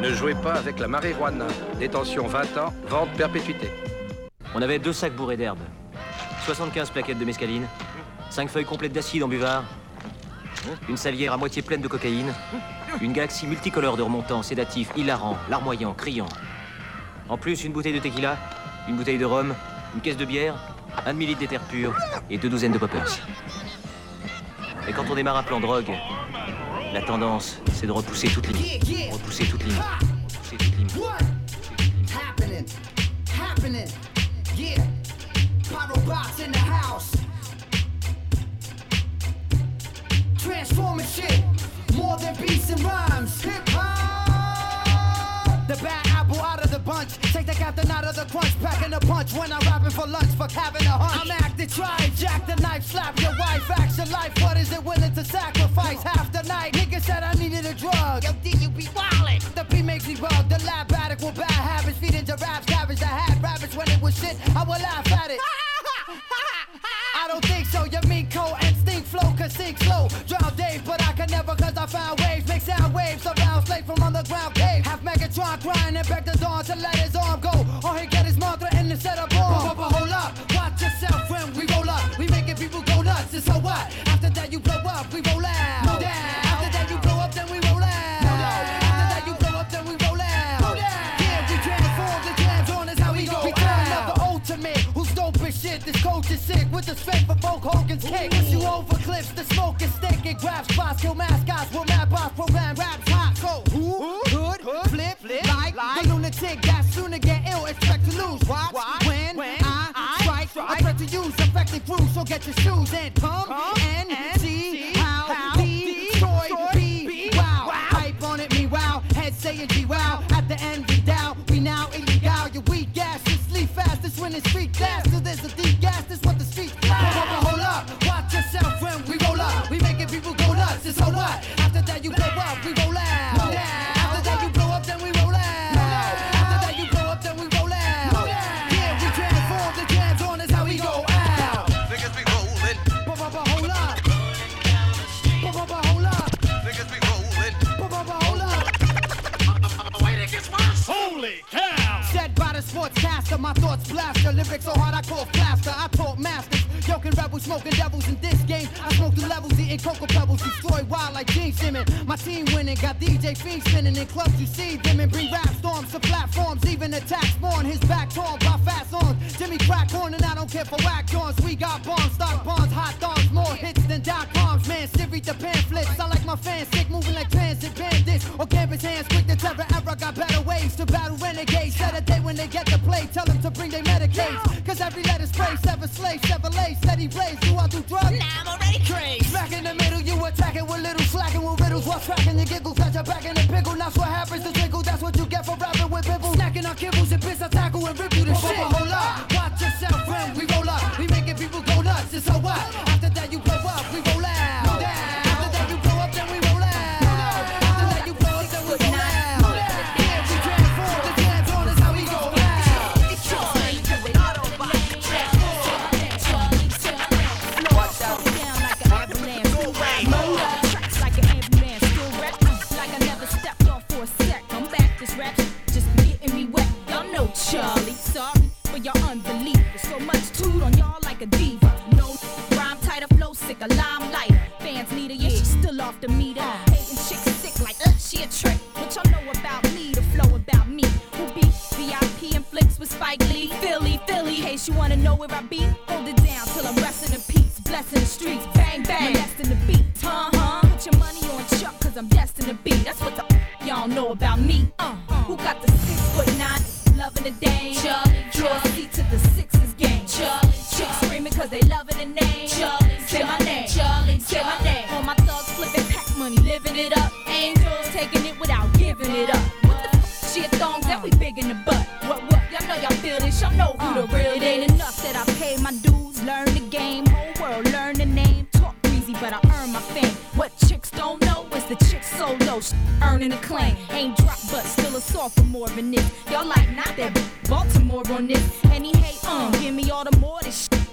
Ne jouez pas avec la marijuana. Détention 20 ans, vente perpétuité. On avait 2 sacs bourrés d'herbe, 75 plaquettes de mescaline, 5 feuilles complètes d'acide en buvard, une salière à moitié pleine de cocaïne, une galaxie multicolore de remontants, sédatifs, hilarants, larmoyants, criants. En plus, une bouteille de tequila, une bouteille de rhum, une caisse de bière, 1 demi-litre d'éther pur et 2 douzaines de poppers. Et quand on démarre un plan drogue, la tendance, c'est de repousser toute limite. Repousser toute limite. Repousser toute limite. Happening. Yeah. Pyro box in the house. Transforming shit. More than beats and rhymes. Hip hop. The bad apple out of the bunch. Take the captain out of the crunch. Packing a punch when I'm rapping for lunch. Fuck having a hunch. I'm acting, try, jack the knife, slap your wife. Action life, what is it willing to sacrifice? Half the night, nigga said I needed a drug. Yo, D, you be wildin'. The beat makes me bug. The lab addict with bad habits. Feeding giraffes, cabbage that had rabbits. When it was shit, I would laugh at it. I don't think so, you mean cold and stink flow, cause sink slow. Drown Dave, but I can never cause I found waves. Make sound waves around slave from underground cave. Half Megatron crying and beg the dawn to let his arm go. Or he get his mantra in the set of bomb. But hold up, watch yourself when we roll up. We making people go nuts, and so what? After that you blow up, we roll out. No down. After that you blow up, then we roll out. No down. After that you blow up, then we roll out. No down. Yeah, we transform, the jams on is how we go. We turn up the ultimate, who's dope as shit. This coach is sick with the strength for Hulk Hogan's kick. Push you over cliffs, the smoke is thick. It grabs spots, kill mascots, will mad boss program, raps hot. So who, hood, flip, like the lunatic that sooner get ill, expect to lose. Watch when I strike, I threat to use effective crew. So get your shoes and come and see how Detroit be. Wow, hype on it, me wow, head saying G wow. At the end we down, we now illegal. Your weak gas, just sleep fast. This when it's street gas, so there's a deep gas. This what the streets blast. Hold up, watch yourself when we roll up. We making people go nuts. And so what? After that you blow up, we roll out. No. After that you blow up, then we roll out. No. After that you blow up, then we roll out. No. Yeah, we transform, the jams on is how we go out. Niggas be rollin'. Hold up. Hold up. Niggas be rollin'. Hold up. Wait, it gets worse. Holy cow! Said by the sportscaster, my thoughts blaster. Lyrics so hard I call plaster. I taught masters. Joking rebels, smoking devils in this game. I smoke the levels, eating cocoa pebbles. Destroy wild like Gene Simmons. My team winning, got DJ Fiend spinning in clubs. You see them and bring rap storms to platforms. Even attack spawn, his back torn by fast songs. Jimmy crack horn and I don't care for whack joints. We got bombs, stock bonds, hot dogs, more hits than .coms. Man, Siri the pamphlets. I like my fans sick, moving like transit bandits. Or campus hands, quick to terror era. Got better ways to battle renegades. Set a day when they get the play, tell them to bring their Medicaid. Cause every letter spray, seven slaves, Chevrolet, steady blaze. Do I do drugs? Nah, I'm already crazy. Smack in the middle, you attacking with little slacking with riddles. While tracking your giggles, got your back in the pickle. That's what happens to jiggle, that's what you get for rapping with people. Snacking on kibbles and bits, I tackle and rip you to shit. Hold up, watch yourself when we roll up. We making people go nuts, and so what? After that you blow up, we roll out. No. After that you blow up, then we roll out. No. After that you blow up, then we roll out. No. Yeah, we transform, the jams on is how we go out. Watch out. Down like an avalanche. Motor tracks like an ambulance. Still rap like I never stepped off for a sec. I'm back, this rap just be getting me wet. Y'all know Charlie. Sorry for your unbelief. There's so much toot on y'all like a diva. No rhyme tighter, flow sicker, limelight. Fans need her, yeah, she's still off the meter. Hating chicks sick like, she a trick. What y'all know about me, the flow about me. Who be VIP and flicks with Spike Lee. Philly, in case you wanna know where I be. Hold it down till I'm resting in peace. Blessing the streets, bang, bang, molesting the beat. Put your money on Chuck, cause I'm destined to be. That's what the y'all know about me. Who got the 6'9", loving the dame? Charlie, draw a seat to the Sixers game. Charlie, chicks screaming cause they loving the name. Charlie, say my name. Charlie, say my name. All my thugs flipping pack money, living it up. Angels taking it without giving it up. What the f***? Shit thongs that we big in the butt. What? Y'all know y'all feel this, y'all know who the real is. It ain't enough that I pay my dues, learn the game. Whole world learn the name. Talk breezy, but I earn my fame. What chicks don't know is the chick solo, earning a claim. Ain't drop, but still a sophomore in this. Y'all like not that Baltimore on this. Any hate, give me all the more this shit.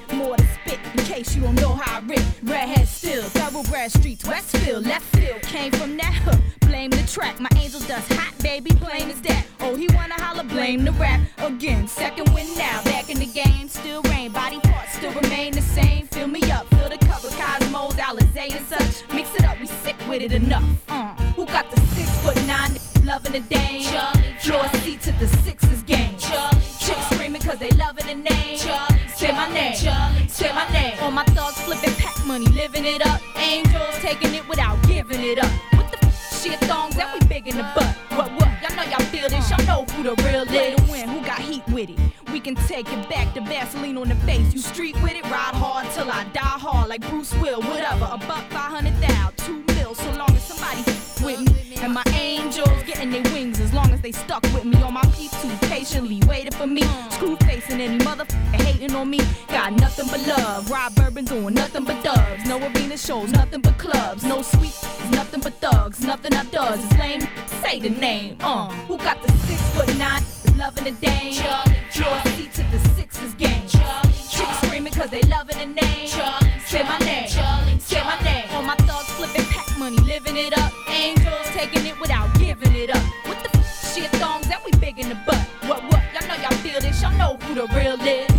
more to spit in case you don't know how I rip. Redhead still, thoroughbred streets, Westfield, left field. Came from that, blame the track. My angel dust hot, baby, plain as that. Oh, he wanna holler, blame the rap. Again, second win now, back in the game, still reign. Body parts still remain the same. Fill me up, fill the cover, Cosmos, Alizé and such. Mix it up, we sick with it enough. Who got the 6'9" loving the dame? Floor seat to the Sixers game. Chicks screaming cause they loving the name. Say my name, say my name. All my thugs flipping pack money, living it up. Angels taking it without giving it up. What the shit thongs that we big in the butt? What? Y'all know y'all feel this, y'all know who the real is. Way to win, who got heat with it? We can take it back to Vaseline on the face. You street with it, ride hard till I die hard like Bruce Will, whatever. $500,000, 2 mil, so long as somebody with me. And my angels getting their wings as long as they stuck with me. All my peeps too patiently waiting for me. Screw facing any motherfucker hating on me. Got nothing but love. Rob Bourbon doing nothing but dubs. No arena shows, nothing but clubs. No sweet, nothing but thugs. Nothing I does is lame. Say the name. Who got the 6'9" loving the dame? Floor seat to the Sixers game. Chicks screaming cause they loving the name. Say my name, say my name. All my thugs flipping pack money, living it up. Angels taking it without giving it up. What the shit thongs that we big in the butt? What? Y'all know y'all feel this, y'all know who the real is.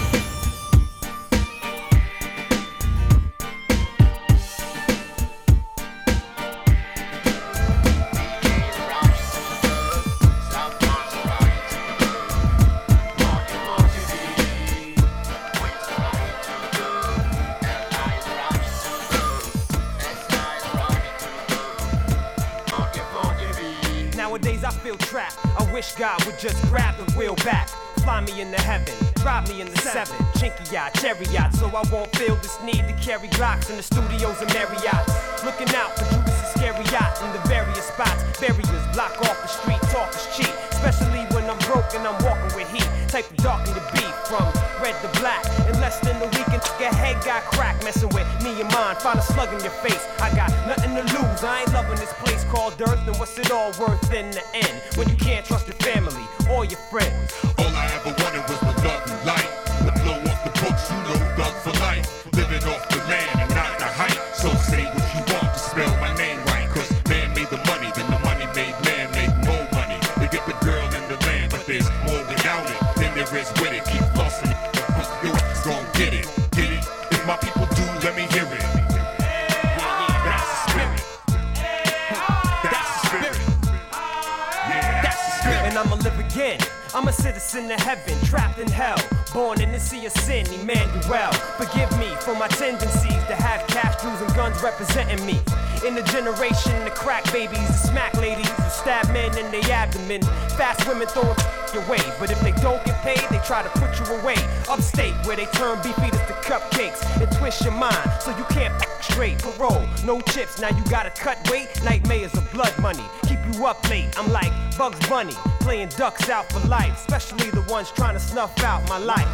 Nowadays I feel trapped. I wish God would just grab the wheel back. Fly me into heaven, drive me in the 7. Chinky yacht, cherry yacht, so I won't feel this need to carry Glocks in the studios and Marriotts. Looking out for Judas Iscariot in the various spots. Barriers block off the street, talk is cheap. Especially when I'm broke and I'm walking with heat. Type of darken the beat from red to black. In less than a week, and your head got cracked. Messing with me and mine, find a slug in your face. I got nothing to lose, I ain't loving this place called Earth. And what's it all worth in the end? When you can't trust your family or your friends. All I ever wanted was the love and light. The blow off the books, you know, thug for life. Living off the land and not the height. So say what you want to spell my name right. Cause man made the money, then the money made man make more money. They get the girl in the land, but there's more without it than there is with it. Keep flossing it, you're gon' get it. Get it? If my people do, let me hear it. That's the spirit. That's the spirit. Yeah, that's the spirit. And I'ma live again. I'm a citizen of heaven, trapped in hell. Born in the sea of sin, Emmanuel. Forgive me for my tendencies to have cash, jewels, and guns representing me. In the generation, the crack babies, the smack ladies who stab men in their abdomen. Fast women throwing your way, but if they don't get paid, they try to put you away. Upstate, where they turn beef eaters to cupcakes and twist your mind so you can't act straight. Parole, no chips, now you gotta cut weight. Nightmares of blood money, keep you up late. I'm like Bugs Bunny, playing ducks out for life, especially the ones trying to snuff out my life.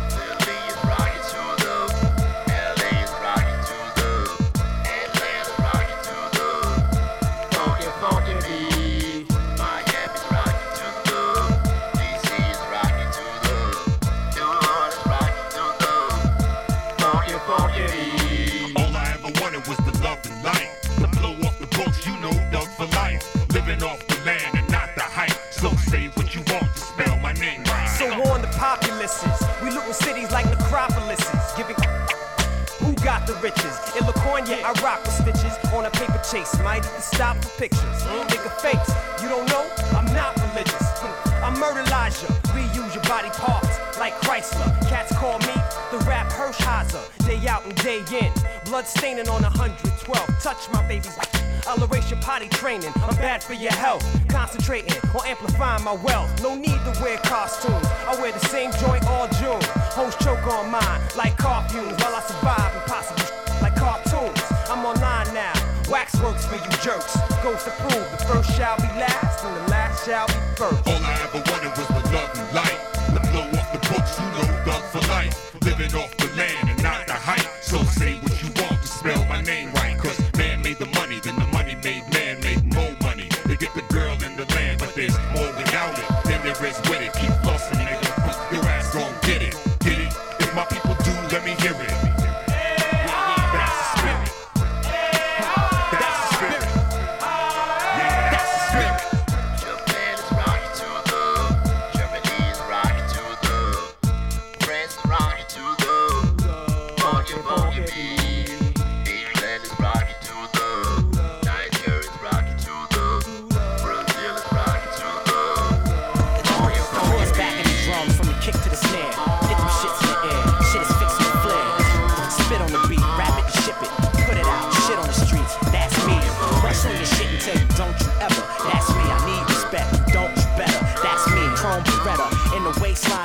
We lootin' cities like necropolises, giving who got the riches. In LaCournia, I rock with stitches on a paper chase. Might even stop for pictures. Nigga fakes, you don't know? I'm not religious. I'm murder Elijah, reuse your body parts like Chrysler. Cats call me the rap Hershiser. Day out and day in, blood staining on 112. Touch my babies. I'll erase your potty training. I'm bad for your health. Concentrating on amplifying my wealth. No need to wear costumes. I wear the same joint all June. Hoes choke on mine like car fumes while I survive impossible like cartoons. I'm online now. Waxworks for you jerks. Goes to prove the first shall be last and the last shall be first. All I ever wanted was the love and light. The blow off the books, you know, thug for life. Living off the land and not the height. So say what you want to spell my name right. Cause man made the money, then the money made man make more money. They get the girl in the land, but there's more without it than there is with it. Keep flossing, nigga. Your ass gon' get it. Get it? If my people do, let me hear it.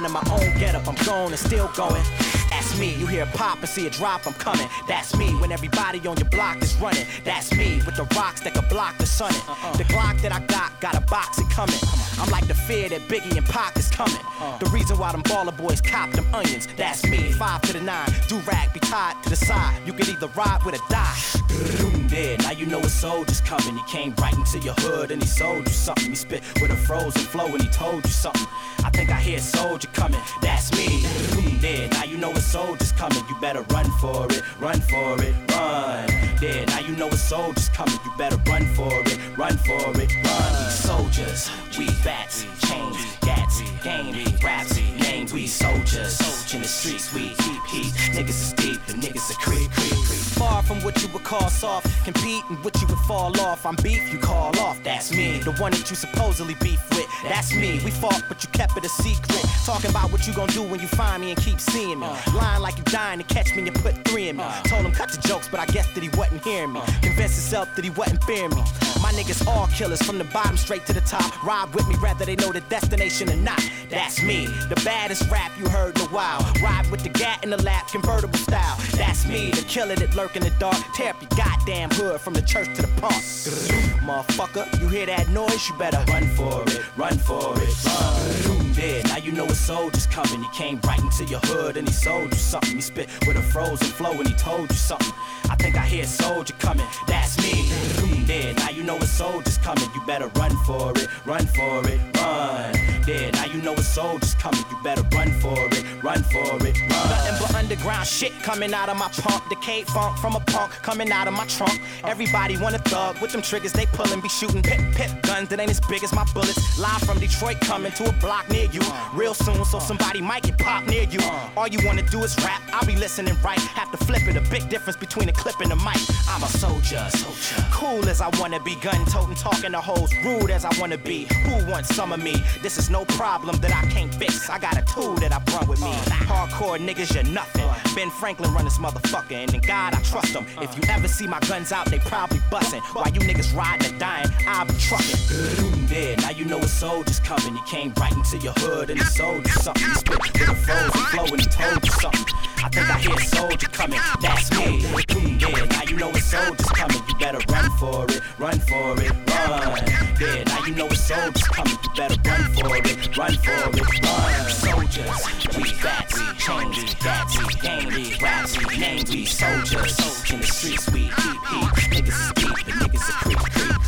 in my own getup, I'm gone and still going. That's me. You hear a pop and see a drop, I'm coming. That's me. When everybody on your block is running. That's me. With the rocks that could block the sun. The Glock that I got a box it coming. I'm like the fear that Biggie and Pac is coming. The reason why them baller boys cop them onions. That's me. 5 to the 9. Do-rag be tied to the side. You can either ride with or die. There, now you know a soldier's coming. He came right into your hood and he sold you something. He spit with a frozen flow and he told you something. I think I hear a soldier coming. That's me. There, now you know a soldier's coming. You better run for it, run for it, run. There, now you know a soldier's coming. You better run for it, run for it, run. We soldiers, we bats, chains, gats, game, raps, names. We soldiers, in the streets we keep heat. Niggas is deep, the niggas are creep. Far from what you would call soft, compete and what you would fall off. I'm beef, you call off. That's me, the one that you supposedly beef with. That's me. We fought, but you kept it a secret. Talking about what you gon' do when you find me and keep seeing me. Lying like you dying to catch me and put 3 in me. Told him cut the jokes, but I guess that he wasn't hearing me. Convinced himself that he wasn't fearing me. My niggas all killers from the bottom straight to the top. Ride with me, rather they know the destination or not. That's me, the baddest rap you heard in a while. Ride with the gat in the lap, convertible style. That's me, the killer that lurk in the dark. Tear up your goddamn hood from the church to the park. Motherfucker, you hear that noise? You better run for it, run for it, run. There, now you know a soldier's coming. He came right into your hood and he sold you something. He spit with a frozen flow and he told you something. I think I hear a soldier coming. That's me. There, now you know a soldier's coming. You better run for it, run for it, run. There, now you know a soldier's coming. You better run for it, run for it, run. Nothing but underground shit coming out of my pump. Decayed funk from a punk coming out of my trunk. Everybody want a thug with them triggers they pullin'. Be shooting pip guns that ain't as big as my bullets. Live from Detroit coming to a block near you. Real soon, so somebody might get popped near you. All you wanna do is rap, I'll be listening right. Have to flip it, a big difference between a clip and a mic. I'm a soldier. Cool as I wanna be, gun-toting, talking to hoes. Rude as I wanna be. Who wants some of me? This is no problem that I can't fix. I got a tool that I brought with me. Hardcore niggas, you're nothing. Ben Franklin run this motherfucker, and in God I trust him. If you ever see my guns out, they probably bustin'. While you niggas riding or dying, I'll be truckin'. There, now you know a soldier's coming. He came right into your hood and he sold you something. He spit with a frozen flow and he told you something. I think I hear a soldier coming. That's me. Yeah, now you know a soldier's coming. You better run for it, run for it, run. Yeah, now you know a soldier's coming. You better run for it, run for it, run. Soldiers, we bats, chains, gats, game, raps, names. We soldiers, in the streets we keep heat. Niggas is deep, the niggas are creep.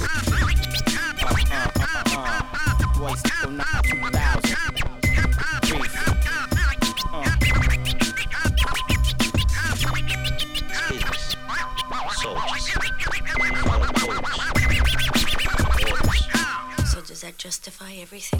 Boys, still not 2000. So does that justify everything?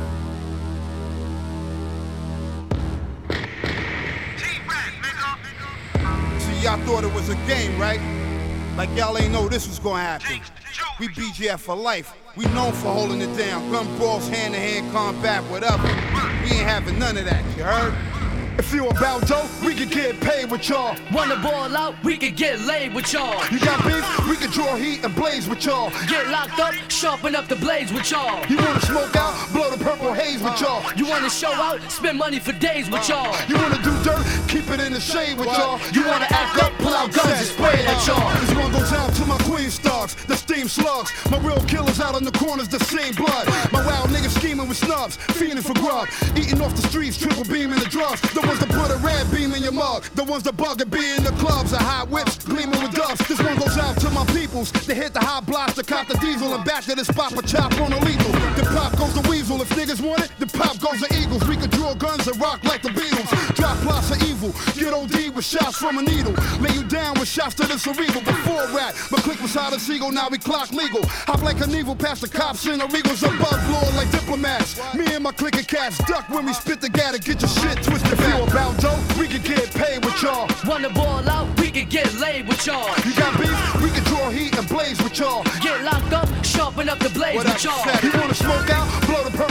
See, y'all thought it was a game, right? Like y'all ain't know this was gonna happen. We BGF for life. We known for holding it down. Gun brawls, hand-to-hand combat, whatever. We ain't having none of that, you heard? If you about dope, we can get paid with y'all. Wanna ball out, we can get laid with y'all. You got beef, we can draw heat and blaze with y'all. Get locked up, sharpen up the blades with y'all. You wanna smoke out, blow the purple haze with y'all. You wanna show out, spend money for days with y'all. You wanna do dirt, keep it in the shade with y'all. You wanna act up, pull out guns and spray it at y'all. This one goes out to my queen stars, the steam slugs. My real killers out on the corners, the same blood. My wild niggas scheming with snubs, fiending for grub. Eating off the streets, triple beam in the drugs. The ones that put a red beam in your mug. The ones that bug and be in the clubs. The hot whips, gleaming with dust. This one goes out to my peoples. They hit the hot blocks to cop the diesel. And back to this spot for chop on illegal. The pop goes the weasel. If niggas want it, the pop goes the Eagles. We can draw guns and rock like the Beatles. Drop plots of evil. Get OD with shots from a needle. Lay you down with shots to the cerebral. Before rap, but click beside a seagull. Now we clock legal. Hop like an evil past the cops and the regals above law like diplomats. Me and my clique of cats duck when we spit the gat and get your shit twisted. If you about dope, we can get paid with y'all. Wanna ball out, we can get laid with y'all. You got beef, we can draw heat and blaze with y'all. Get locked up, sharpen up the blades with y'all. You wanna smoke out, blow the purple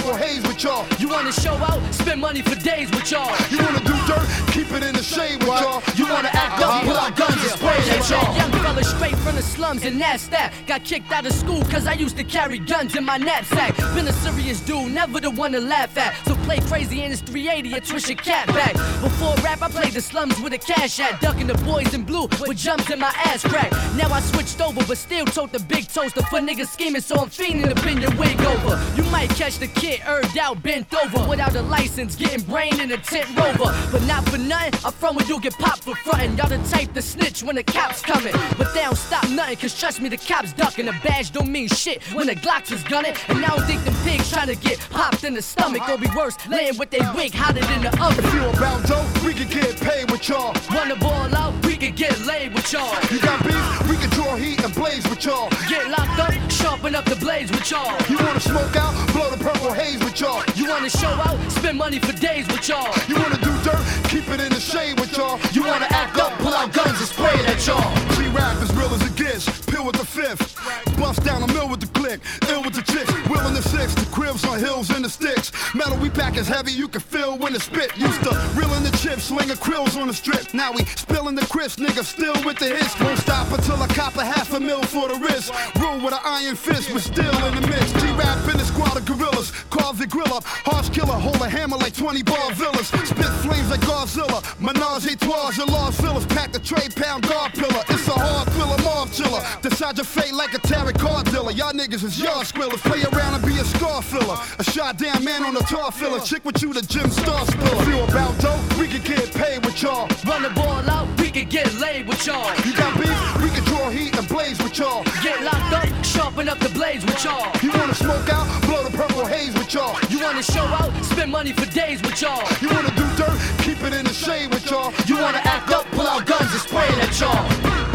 purple haze with y'all. You wanna show out, spend money for days with y'all. You wanna do dirt, keep it in the shade with y'all. You wanna act up, pull out guns and spray at y'all. Young fella straight from the slums and that's that. Got kicked out of school cause I used to carry guns in my knapsack. Been a serious dude, never the one to laugh at. So play crazy in his 380 and twist your cat back. Before rap, I played the slums with a cash at. Ducking the boys in blue with jumps in my ass crack. Now I switched over, but still tote the big toaster for niggas scheming, so I'm fiending to bend your wig over. You might catch the kid earned out, bent over, without a license, getting brain in a tent rover. But not for nothing, I'm from where you get popped for frontin'. Y'all the type to snitch when the cops coming, but they don't stop nothing, cause trust me, the cops ducking. A badge don't mean shit when the Glocks is gunning. And I don't think them pigs trying to get popped in the stomach. Or be worse, laying with they wig hotter than the oven. If you about dope, we can get paid with y'all. Wanna ball out, we can get laid with y'all. You got beef, we can draw heat and blaze with y'all. Get locked up, sharpen up the blades with y'all. You wanna smoke out, blow the purple haze with y'all. You wanna show out, spend money for days with y'all. You wanna do dirt, keep it in the shade with y'all. You wanna act up, pull out guns and spray it at y'all. G-Rap as real as it gets, pill with the fifth. Bust down the mill with the click, ill with the chicks. Will in the six, the cribs on hills and the sticks. Metal we pack is heavy, you can feel when it spit. Used to reeling the chips, slinging krills on the strip. Now we spilling the crisp, niggas still with the hits. Won't stop until I cop a $500,000 for the wrist. Rule with an iron fist, we're still in the mix. G-Rap in the squad of gorillas, carve the grill up. Harsh killer, hold a hammer like 20 bar villas. Spit flames like Godzilla, menage a trois, your large villas. Pack the tray, pound guard pillar. It's a hard thriller, mob chiller. Decide your fate like a tarot card dealer. Y'all niggas is yard squillers. Play around and be a scar filler. A shot down man on a tar filler. Chick with you, the gym star spiller. Feel about dope, we can get paid with y'all. Run the ball out, we can get laid with y'all. You got beef, we can draw heat and blaze with y'all. Get locked up, sharpen up the blades with y'all. You wanna smoke out, blow the purple haze with y'all. You wanna show out, spend money for days with y'all. You wanna do dirt, keep it in the shade with y'all. You wanna act up, pull out guns and spray it at y'all.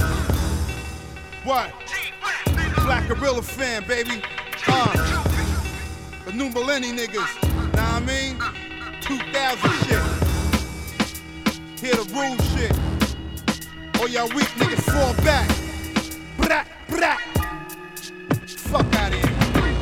What? Black Gorilla fan, baby. The new millennium niggas. Know what I mean? 2000 shit. Hear the rules shit. All y'all weak niggas fall back. Brat, brat. Fuck out of here.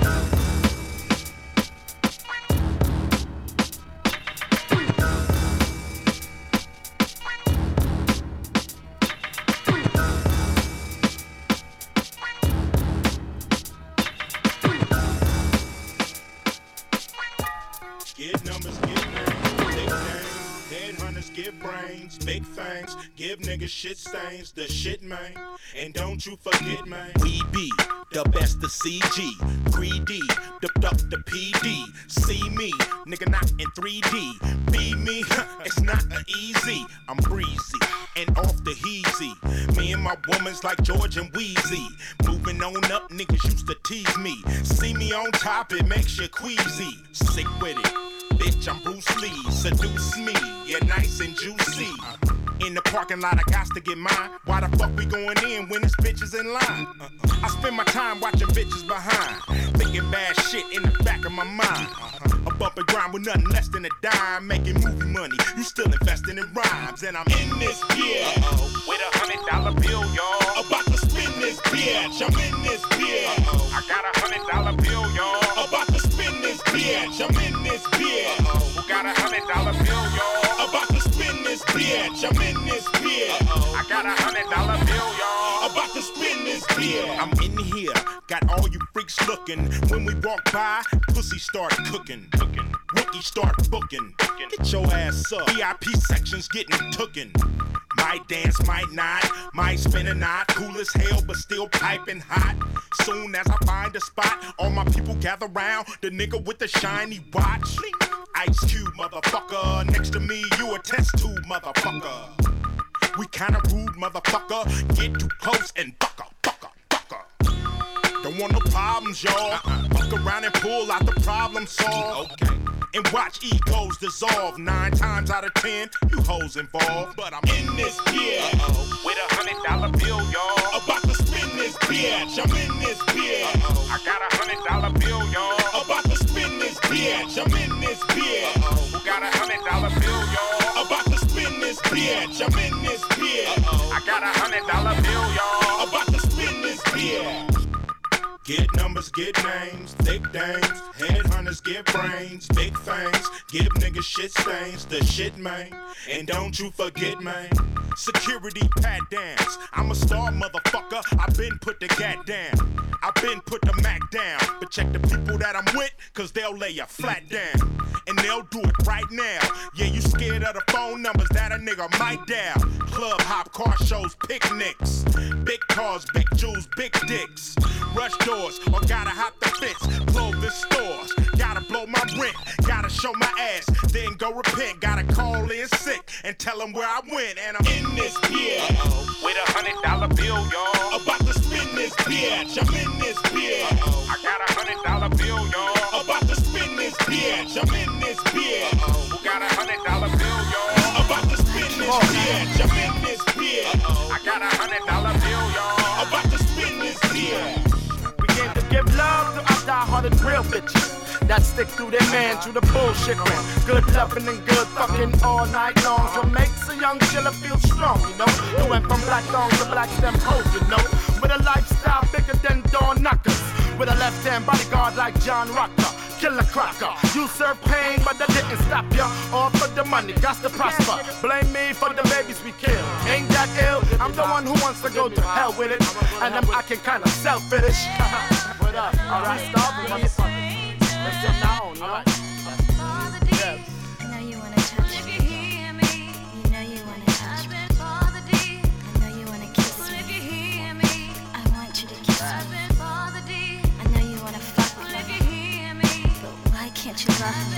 Get numbers, get names, big names, headhunters, get brains, big fangs, give niggas shit stains, the shit man, and don't you forget man, we be the best of CG, 3D, the PD, see me, nigga not in 3D, be me, it's not easy, I'm breezy, and off the heezy, me and my woman's like George and Wheezy, moving on up, niggas used to tease me, see me on top, it makes you queasy, sick with it. Bitch, I'm Bruce Lee, seduce me, yeah, nice and juicy. In the parking lot, I got to get mine. Why the fuck we going in when this bitch is in line? I spend my time watching bitches behind, thinking bad shit in the back of my mind. A bump and grind with nothing less than a dime, making movie money. You still investing in rhymes, and I'm in this bitch with $100 bill, y'all. About to spin this bitch. I'm in this bitch. I got $100 bill, y'all. About to spin this bitch. I'm in this bitch. Who got $100 bill, y'all? About to spin this bitch. I'm in this bitch. I got $100 bill, y'all. About to spin this bitch. I'm in here, got all you freaks looking. When we walk by, pussy start cooking. Rookie start booking. Get your ass up. VIP sections getting tooken. Might dance, might not, might spin a knot. Cool as hell, but still piping hot. Soon as I find a spot, all my people gather round. The nigga with the shiny watch. Ice Cube, motherfucker. Next to me, you a test tube, motherfucker. We kinda rude, motherfucker. Get too close and fucker. Don't want no problems, y'all. Fuck around and pull out the problem solved. Okay. And watch egos dissolve. 9 times out of 10, you hoes involved. But I'm in this bitch with $100 bill, y'all. About to spin this bitch. I'm in this bitch. I got $100 bill, y'all. About to spin this bitch. I'm in this bitch. Who got $100 bill, y'all? About to spin this bitch. I'm in this bitch. I got $100 bill, y'all. About to spin this bitch. Get numbers. Rappers get names, thick dames. Headhunters get brains, big fangs. Give niggas shit stains, the shit, man. And don't you forget, man. Security pat downs. I'm a star, motherfucker. I been put the gat down. I been put the Mac down. But check the people that I'm with, cause they'll lay you flat down. And they'll do it right now. Yeah, you scared of the phone numbers that a nigga might dial. Club hop, car shows, picnics. Big cars, big jewels, big dicks. Rush doors, or gotta hop the fence. Clothing stores, gotta blow my rent. Gotta show my ass, then go repent. Gotta call in sick and tell them where I went. And I'm in this bitch with $100 bill, y'all. About to spin this bitch, I'm in this bitch. I got $100 bill, y'all. About to spin this bitch, I'm in this bitch. Who got $100 bill, y'all? About to spin this bitch, I'm in this bitch. I got $100 bill, y'all. About to spin this bitch. We came to give love to our die-hearted real bitches that stick through their man, through the bullshit, man. Good loving and good fucking all night long. So makes a young chiller feel strong, you know. You went from black thongs to black stem hoes, you know. With a lifestyle bigger than door knockers. With a left-hand bodyguard like John Rocker. Killer Crocker. You serve pain, but that didn't stop ya. All for the money, got to prosper. Blame me for the babies we kill. Ain't that ill? I'm the one who wants to go to hell with it. And I'm acting kinda selfish. What up? Alright, stop it, motherfucker. Let's get now, you know? Yes. I know you wanna touch me. If you hear me, you know you wanna touch me. I know you wanna kiss me. If you hear me, I want you to kiss me. I know you wanna fuck with me. If you hear me, but why can't you love me?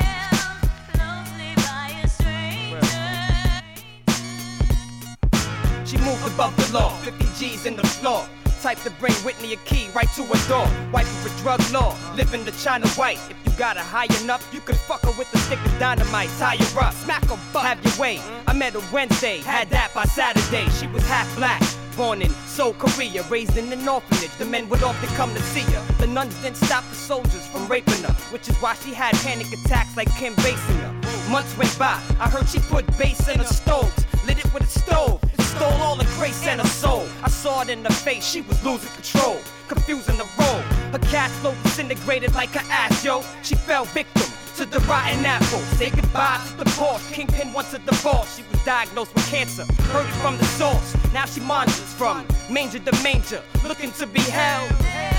She moved above the law, 50 G's in the floor. Type to bring Whitney a key right to her door. Wife for drug law, living the China white. If you got her high enough, you can fuck her with a stick of dynamite. Tie her up, smack her butt, have your way. I met her Wednesday, had that by Saturday. She was half black, born in Seoul, Korea, raised in an orphanage. The men would often come to see her. The nuns didn't stop the soldiers from raping her, which is why she had panic attacks like Kim Basinger. Months went by, I heard she put bass in her stoves, lit it with a stove. Stole all the grace and her soul. I saw it in her face, she was losing control, confusing the role. Her cash flow disintegrated like her ass, yo. She fell victim to the rotten apple. Say goodbye to the boss. Kingpin wants a divorce. She was diagnosed with cancer, heard it from the source. Now she monitors from manger to manger, looking to be held.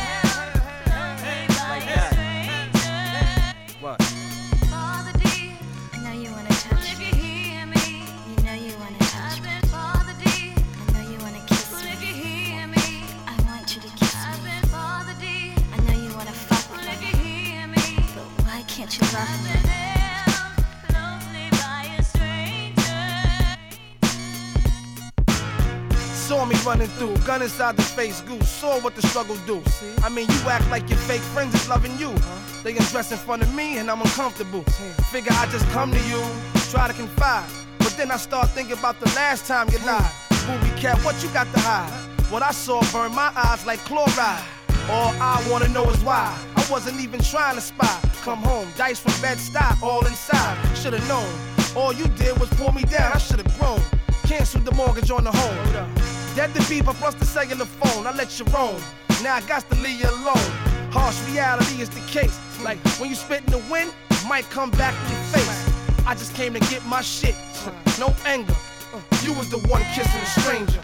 Like that. What? Can't you love me? Saw me running through, gun inside the face, goose. Saw what the struggle do. I mean, you act like your fake friends is loving you. They undress in front of me and I'm uncomfortable. Figure I just come to you, try to confide. But then I start thinking about the last time you lied. Booby cat, what you got to hide? What I saw burned my eyes like chloride. All I wanna know is why. I wasn't even trying to spy. Come home, dice from Bed-Stuy, all inside. Should've known. All you did was pull me down. I should've grown. Canceled the mortgage on the home. Dead to beep, I plus the cellular phone. I let you roam. Now I got to leave you alone. Harsh reality is the case. Like when you spit in the wind, it might come back in your face. I just came to get my shit. No anger. You was the one kissing a stranger.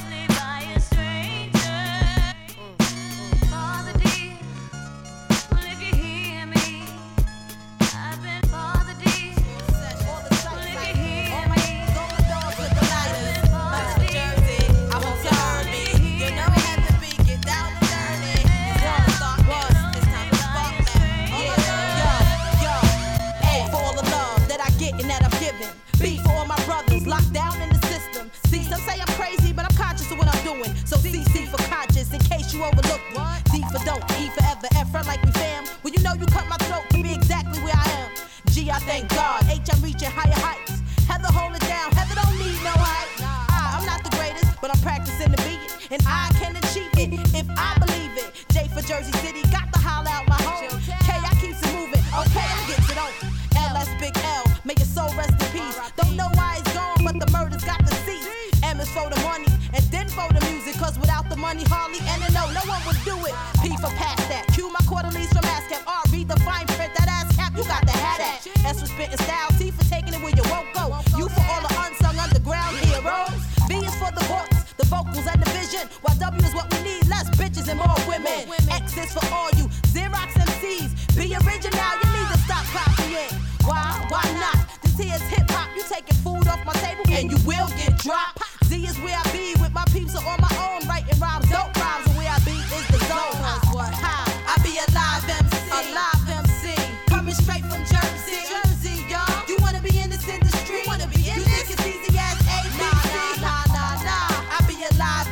Locked down in the system. See, some say I'm crazy, but I'm conscious of what I'm doing. So CC for conscious, in case you overlooked me. D for don't, E forever, F for like we fam. Well, you know you cut my throat to be exactly where I am. G, I thank God. H, I'm reaching higher heights. Heather, hold it down. Heather don't need no hype. I'm not the greatest, but I'm practicing to be it. And I can achieve it if I believe it. J for Jersey City, got to holler out my home. K, I keeps it moving. Okay, I gets it on. L, that's Big L. May your soul rest in peace. Don't know why it's gone, but the murder's got the cease. M is for the money, and then for the music. Cause without the money, hardly and no one would do do it. P for past that. Q my quarterlies from ASCAP. R read the fine print, that ass cap, you got to have that. S for spitting style, T for taking it where you won't go. U for all the unsung underground heroes. V is for the voice, the vocals and the vision. While W is what we need, less bitches and more women. X is for all you Xerox MCs. Be original, you need to stop copying. Why not? This here is hip hop. You taking food off my table and you will get dropped. Z is where I be with my peeps are on my own, writing rhymes, dope rhymes, and where I be is the zone. I be a live MC, coming straight from Jersey, y'all. You wanna be in this industry? You think it's easy as ABC? Nah. I be a live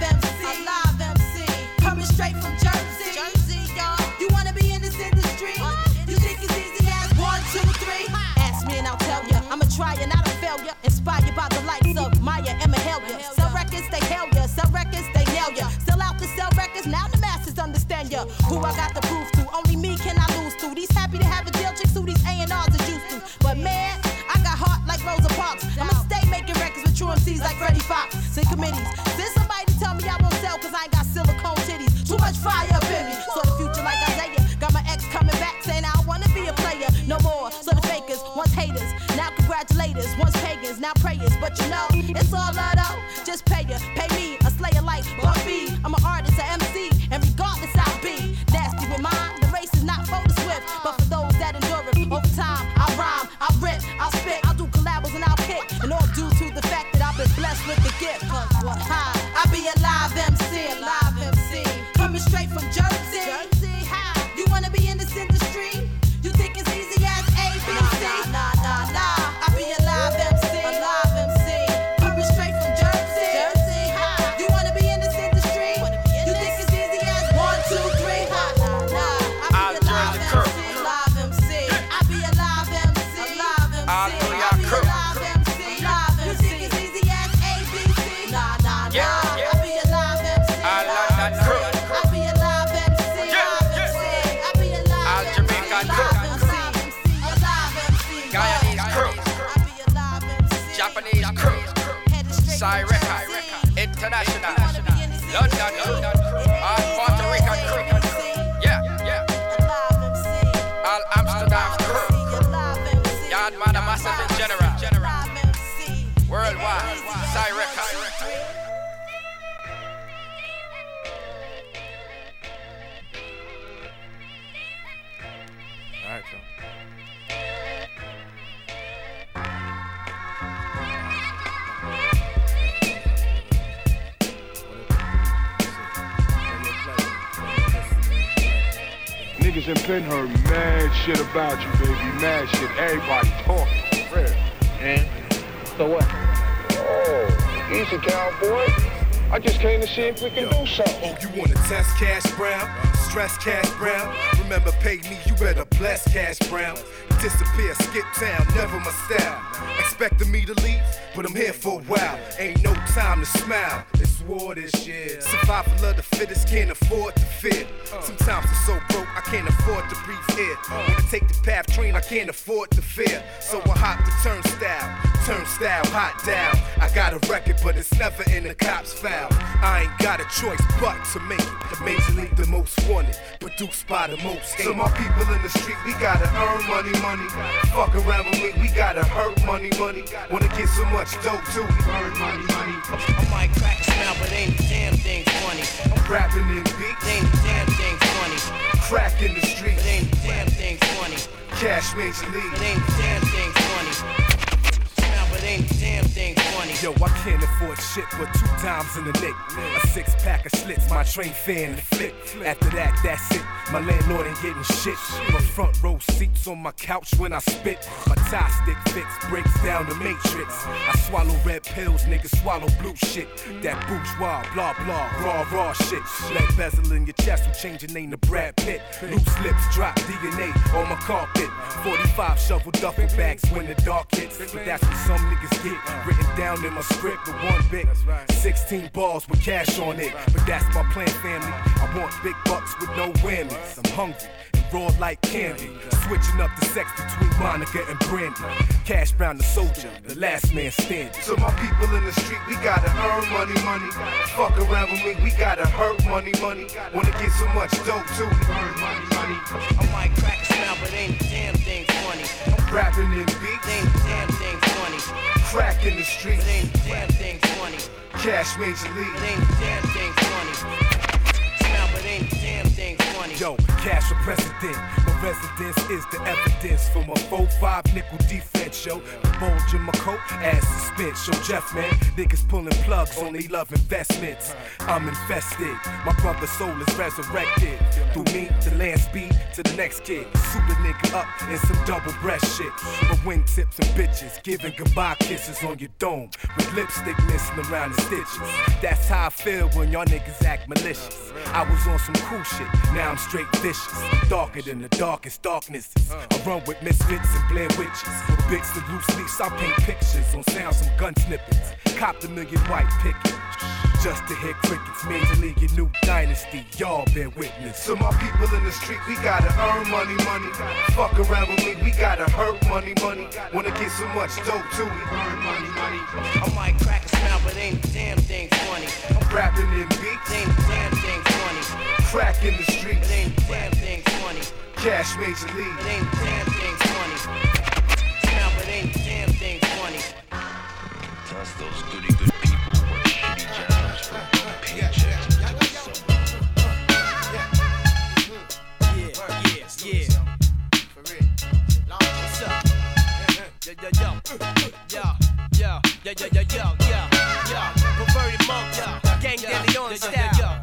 MC, coming straight from Jersey, y'all. You wanna be in this industry? You think it's easy as 1, 2, 3? Ask me and I'll tell ya. I'm a tryer, not a failure. Inspired by the likes of Maya and Mahalia. Sell records, they hail ya. Sell records, they nail ya. Still out to sell records, now the masses understand ya. Who I got the proof to? Only me can I lose to. These happy to have a deal chicks who these A&Rs are used to. But man, I got heart like Rosa Parks. I'ma stay making records with true MCs like Freddie Fox. In committees, send somebody to tell me I won't sell cause I ain't got silicone titties. Too much fire up in me. So the future like Isaiah. Got my ex coming back saying I wanna be a player. No more, so the fakers, once haters, now congratulators, once pagans, now prayers. But you know, it's all love though. Just pay me, a slayer like Buffy. I'm an artist, an MC, and regardless I'll be nasty with mine. The race is not for the swift, but for those that endure it. Over time, I'll rhyme, I'll rip, I'll spit, I'll do collabos and I'll kick. And all due to the fact that I've been blessed with the gift. I be a live MC, coming straight from Jersey. You wanna be in this industry? You think it's easy as ABC? Nah. I be a live MC, coming straight from Jersey. You wanna be in this industry? You think it's easy as 1, 2, 3? Nah. I be a live MC. I be a live MC. You think it's easy as ABC? Nah. I be a live MC. I be a live MC. I be a live MC. Guyanese crew, Japanese crew, Cyreca, International, London, Puerto Rican crew, yeah, all Amsterdam crew, Yard Man, a massive in general, worldwide, Cyreca. All right, y'all. Niggas in Penn heard mad shit about you, baby. Mad shit. Everybody talking. Real. And so what? Oh, easy, cowboy. I just came to see if we can do something. Oh, you wanna test Cash Brown? Stress Cash Brown? Remember, pay me, you better bless Cash Brown. Disappear, skip town, never my style. Expecting me to leave, but I'm here for a while. Ain't no time to smile. It's war this year. Survival of the fittest, can't afford to fear. Sometimes I'm so broke, I can't afford to breathe here. When I take the path train, I can't afford to fear. So I hop the turnstile, hot down. I got a record, but it's never in the cops' file. I ain't got a choice but to make it. The Major League, the most wanted, produced by the most hated. So my people in the street, we gotta earn money. Fuck around with me, we gotta hurt money. Wanna get so much dope too, earn money. I might crack a smile, but ain't a damn thing funny. I'm rapping in beats, ain't a damn thing funny. Crack in the street, ain't a damn thing funny. Cash Major League, ain't a damn thing funny. But ain't a damn thing funny. Yo, I can't afford shit but 2 dimes in the nick. A 6-pack of slits, my train fare and the flip. After that, that's it. My landlord ain't getting shit. My front row seats on my couch when I spit. My tie stick fits, breaks down the matrix. I swallow red pills, niggas swallow blue shit. That bourgeois, blah blah, raw shit. Let bezel in your chest, I'm changing name to Brad Pitt. Loose lips, drop DNA on my carpet. 45 shovel duffel bags when the dark hits. But that's what some niggas get. Written down in my script with 1 bit. 16 balls with cash on it. But that's my plan, family. I want big bucks with no whammy. Wendy's. I'm hungry and raw like candy. Switching up the sex between Monica and Brandy. Cash Brown the soldier, the last man standing. So my people in the street, we gotta earn money. Fuck around with me, we gotta hurt money. Wanna get so much dope too. Earn money. I might crack a smile, but ain't a damn thing funny. I'm rapping in beats, ain't a damn thing funny. Crack in the streets, ain't a damn thing funny. Cash Major League, ain't a damn thing funny. Smile, but ain't a damn thing funny. Yo, cash for president. My residence is the evidence for my 4-5 nickel defense, yo. The bulge in my coat, ass suspense. Yo, Jeff, man, niggas pulling plugs, only love investments. I'm infested, my brother's soul is resurrected. Through me, to land speed, to the next kid. Suit a nigga up in some double breast shit. But wingtips and bitches, giving goodbye kisses on your dome. With lipstick missing around the stitches. That's how I feel when y'all niggas act malicious. I was on some cool shit, now I'm straight vicious. Darker than the darkest darknesses. I run with misfits and Blair witches. With bits and loose leaves, I paint pictures on sounds from gun snippets. Copped a million white pickets. Just to hear crickets, Major League, your new dynasty, y'all bear witness. So my people in the street, we gotta earn money. Fuck around with me, we gotta hurt money. Wanna get so much dope too. Earn money. I might crack a smile, but ain't a damn thing funny. I'm rapping in beats, ain't a damn thing funny. Crack in the streets, ain't a damn thing funny. Cash Major League, ain't a damn thing funny. Smile, but ain't a damn thing funny. Plus those goody good people work shitty jobs for paychecks. Yeah. For real. What's up? Yo. Perverted monk, Gang Daily on style.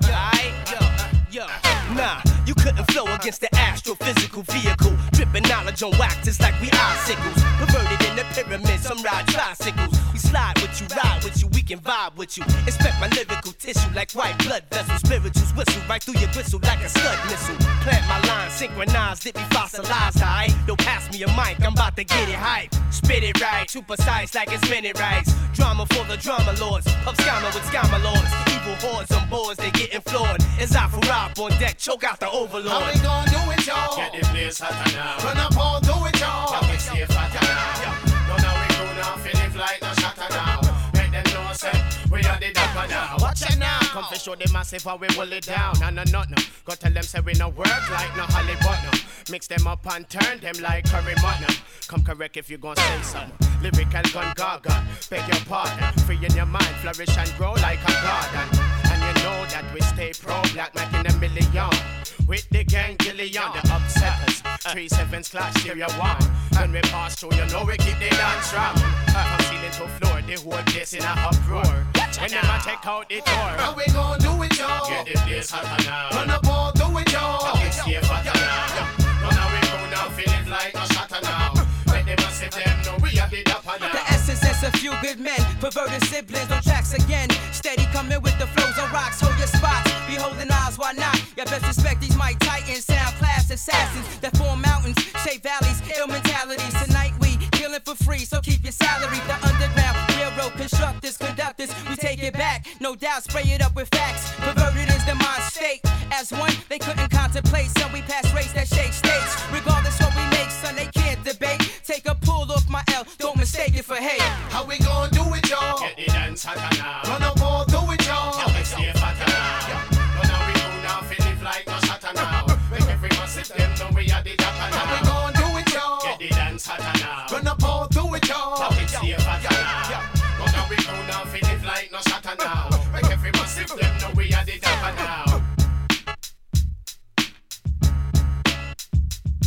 Nah, you couldn't flow against the astrophysical vehicle. Dripping knowledge on wax, it's like we icicles. Perverted in the pyramid, some ride tricycles. We slide with you, ride with you, we can vibe with you. Inspect my lyrical tissue like white blood vessels. Spirituals whistle right through your gristle like a scud missile. Plant my lines, synchronized, it be fossilized, aight? Don't pass me a mic, I'm about to get it hype. Spit it right, too precise like it's minute rights. Drama for the drama lords, up scammer with scammer lords. Evil hordes on boards, they getting floored. As I for rap on deck, choke out the overlord. How we gon' do it, y'all? Get the place hotter now. Run up all, do it, y'all. Y'all can stay fatter now. No, now we go now, feeling like no shatter now. Make them know, say, we are the dapper now. Watch it now. Come to show the massive how we pull it down. No. Go tell them, say we no work like no Hollywood no. Mix them up and turn them like curry mutton. Come correct if you gon' say something. Lyrical gun gaga, beg your pardon. Free in your mind, flourish and grow like a garden. And you know that we stay pro-black, making a million. With the gang Gillian, the upsetters 3-7 clash, stereo 1. When we pass through, you know we keep the dance strong. From ceiling to floor, the whole place in a uproar. When never take out the door. How we gon' do it, y'all? Get the place hotter now. Run up all, do it, y'all. Y'all can stay fatter now. No, now we go now, feeling like no shatter now. When they must them know we are the dapper now. The essence is a few good men, perverted siblings on tracks again. Steady coming with the flows on rocks, hold your spots. Be holding eyes, why not? You best respect these Mike Titans, sound class assassins that form mountains, shape valleys, ill mentalities. Tonight we killing for free, so keep your salary. The underground railroad constructors, conductors, we take it back. No doubt, spray it up with facts. Perverted is the mind state. As one, they couldn't contemplate, so we pass race that shake states. Regardless what we make, son, they can't debate. Take a pull off my L, don't mistake it for hate. How we gon' do it, y'all? Get the dance hotter now. Run up all, do it, y'all. Y'all can stay fatter now. No, now we go now, feeling like no shatter now. Make every massive them know we are the dapper now. How we gon' do it, y'all? Get the dance hotter now. Run up all, do it, y'all. Y'all can stay fatter now. No, now we go now, feeling like no shatter now. Make every massive them know we are the dapper now.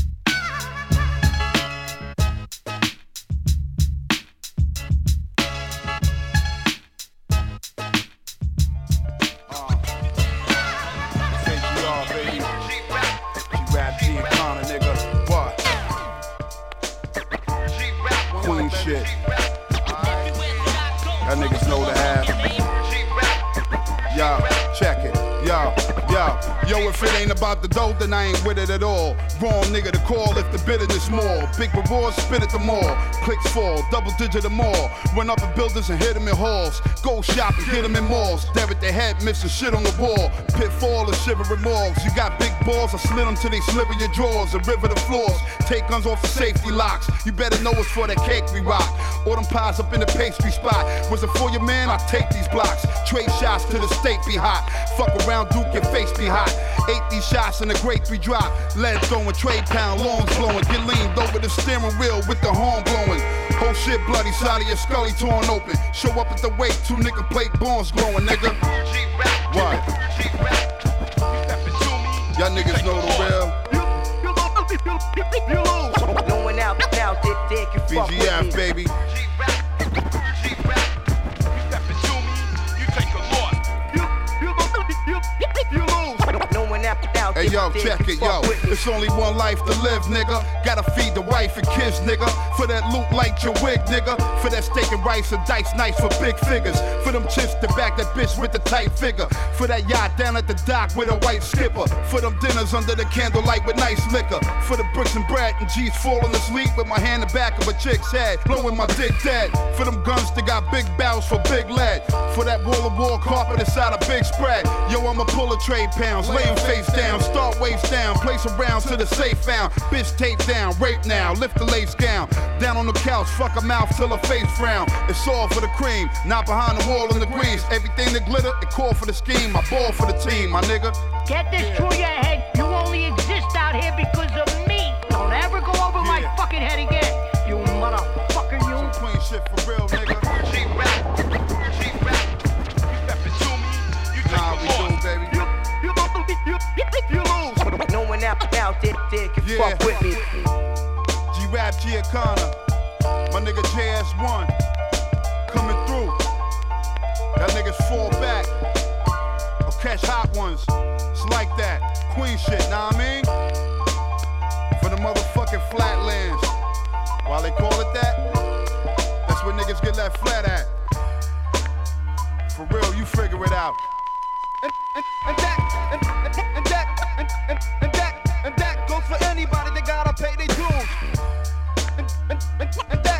Yo, if it ain't about the dough, then I ain't with it at all. Wrong nigga to call if the bitterness more. Big rewards, spit at the mall. Clicks fall, double digit or more. Run up in buildings and hit them in halls. Go shopping, hit them in malls. Stare at their head, missing shit on the wall. Pitfall and shivering morgues. You got big balls, I slit them till they slip in your drawers and river the floors. Take guns off the safety locks. You better know it's for that cake we rock. Or them pies up in the pastry spot. Was it for your man? I take these blocks. Trade shots to the state be hot. Fuck around, Duke, your face be hot. Ate these shots in the grape we drop. Lead throwing, trade pound, longs blowing. Get leaned over the steering wheel with the horn blowing. Whole shit bloody, side of your scully torn open. Show up at the wake, 2 nickel plate bones glowing, nigga. What? Y'all niggas know the real. No one out there can fuck with me. BGF, baby. Hey yo, check it, yo. It's only one life to live, nigga. Gotta feed the wife and kids, nigga. For that loot like your wig, nigga. For that steak and rice and dice nice for big figures. For them chicks to back that bitch with the tight figure. For that yacht down at the dock with a white skipper. For them dinners under the candlelight with nice liquor. For the bricks and bread and G's falling asleep with my hand in the back of a chick's head. Blowing my dick dead. For them guns that got big barrels for big lead. For that wall-to-wall carpet inside a big spread. Yo, I'ma pull a trade pounds, lay him face down. Start waist down, place a round to the safe found. Bitch tape down, rape now, lift the lace gown. Down on the couch, fuck her mouth till her face frown. It's all for the cream, not behind the wall in the grease. Everything that glitter, it call for the scheme. I ball for the team, my nigga. Get this through your head, you only exist out here because of me. Don't ever go over my fucking head again, you motherfucker, you. Some clean shit for real, nigga. G-Rap. Nah, we do, baby. You lose. No one out there can fuck with me. G-Rap, Giacana. My nigga JS1. Coming through. Y'all niggas fall back. Or catch hot ones. It's like that. Queen shit, know what I mean? For the motherfucking flatlands. Why they call it that? That's where niggas get left flat at. For real, you figure it out. And that goes for anybody that gotta pay their dues. And that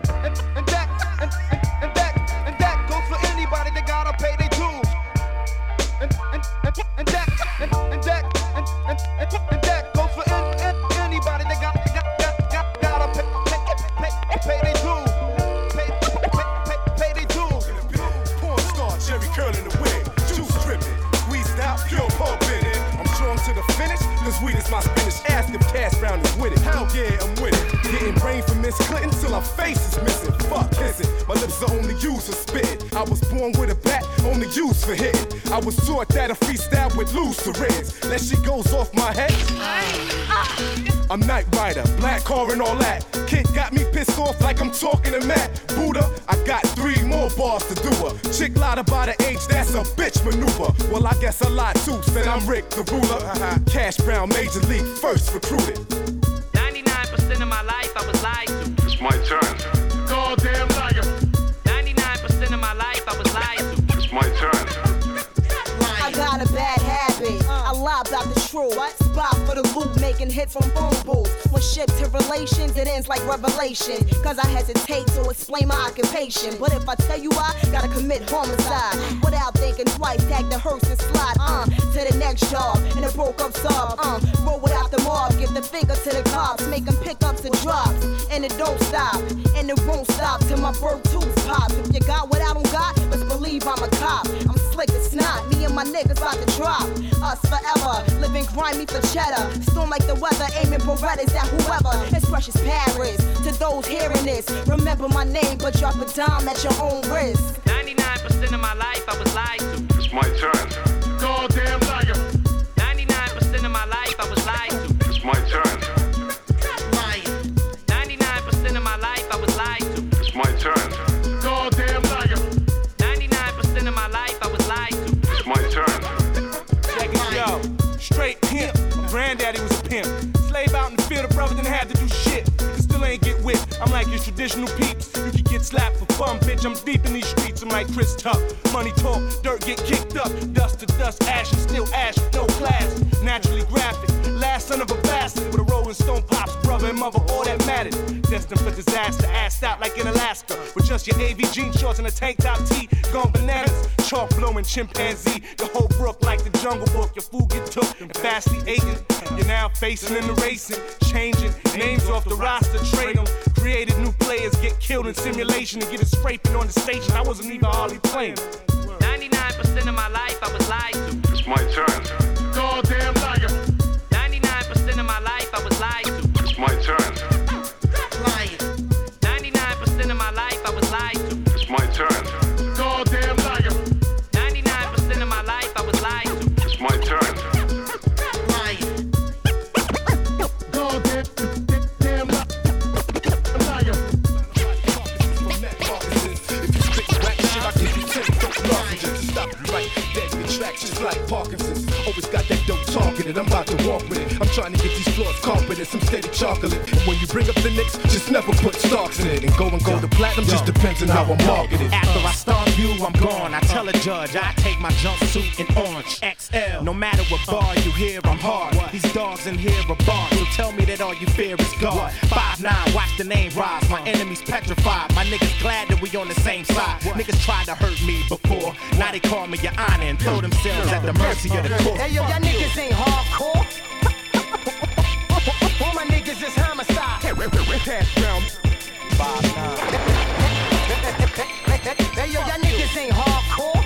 goes for anybody that gotta pay their dues. And that goes for anybody that gotta pay their dues. Pay their dues. Porn star, Jerry curl in the wig, juice dripping, squeezed out, pure pulp in it. I'm strong to the finish, cause weed is my spinach. Ask if Cash Brown is with it. Hell yeah, I'm with it. Getting brain from Miss Clinton till her face is missing. Fuck kissing, my lips are only used for spitting. I was born with a bat, only used for hitting. I was taught that a freestyle with loose syringe. That shit goes off my head. I'm Night Rider, black car and all that. Kid got me pissed off like I'm talking to Matt. Buddha, I got 3 more bars to do her. Chick lied about her age, that's a bitch maneuver. Well, I guess I lied too, said I'm Rick the ruler. Cash Brown, Major League, first recruited. 99% of my life I was lied to. It's my turn. Goddamn liar. 99% of my life I was lied to. It's my turn. I got a bad habit. I lie about the truth. Spot for the loop, making hits from phone booths. When shit to relations, it ends like revelation. Cause I hesitate to explain my occupation. But if I tell you I gotta commit homicide without thinking twice, tag the hearse and slide to the next job. And a broke up sub. Roll without the mob, give the finger to the cops, make them pick up the drops. And it don't stop, and it won't stop till my bird tooth pops. If you got what I don't got, let's believe I'm a cop. I'm slick as snot, me and my niggas about to drop. Us forever, living grimy for cheddar. Storm like the weather, aiming Berettas at whoever. It's precious Paris. To those hearing this, remember my name, but drop a dime at your own risk. 99% of my life I was lied to. It's my turn. Goddamn liar. 99% of my life I was lied to. It's my turn. 99% of my life I was lied to. It's my turn. Goddamn liar. 99% of my life I was lied to. It's my turn. Check it, yo. Straight pimp. My granddaddy was a pimp. Slave out in the field, the brother didn't have to do shit. You still ain't get whipped. I'm like your traditional peeps. You can get get slapped for fun, bitch. I'm deep in these streets, I'm like Chris Tuck. Money talk, dirt get kicked up. Dust to dust, ash is still ash, no class. Naturally graphic, last son of a bastard with a Rolling Stone pops, brother and mother, all that mattered. Destined for disaster, assed out like in Alaska. With just your AV jean shorts and a tank top tee, gone bananas. Chalk blowing chimpanzee, the whole brook like the Jungle Book. Your food get took and fastly eaten. You're now facing in the racing, changing names off the roster, trade them. Created new players, get killed in simulation and get it scraping on the station. I wasn't even hardly playing. 99% of my life I was lied to. It's my turn. Goddamn liar. 99% of my life I was lied to. It's my turn. Lying. 99% of my life I was lied to. It's my turn. Goddamn liar. 99% of my life I was lied to. It's my turn. Lying. Goddamn liar. Just like Parkinson's, always got that dope targeted. I'm about to walk with it. I'm trying to get these floors carpeted, some steady chocolate. And when you bring up the Knicks, just never put Starks in it. And go to platinum just depends on how I'm marketed. After I start you, I'm gone. I tell a judge I take my jumpsuit in orange XL. No matter what bar you hear, I'm hard. These dogs in here are barred. So tell me that all you fear is God. 5'9", watch the name rise. My enemies petrified. My niggas glad that we on the same side. Niggas tried to hurt me before. Now they call me your honor and throw themselves at the mercy of the court. Hey yo, y'all niggas ain't hardcore. All my niggas is homicide. Pass round. 5'9". Hey yo, y'all niggas ain't hardcore.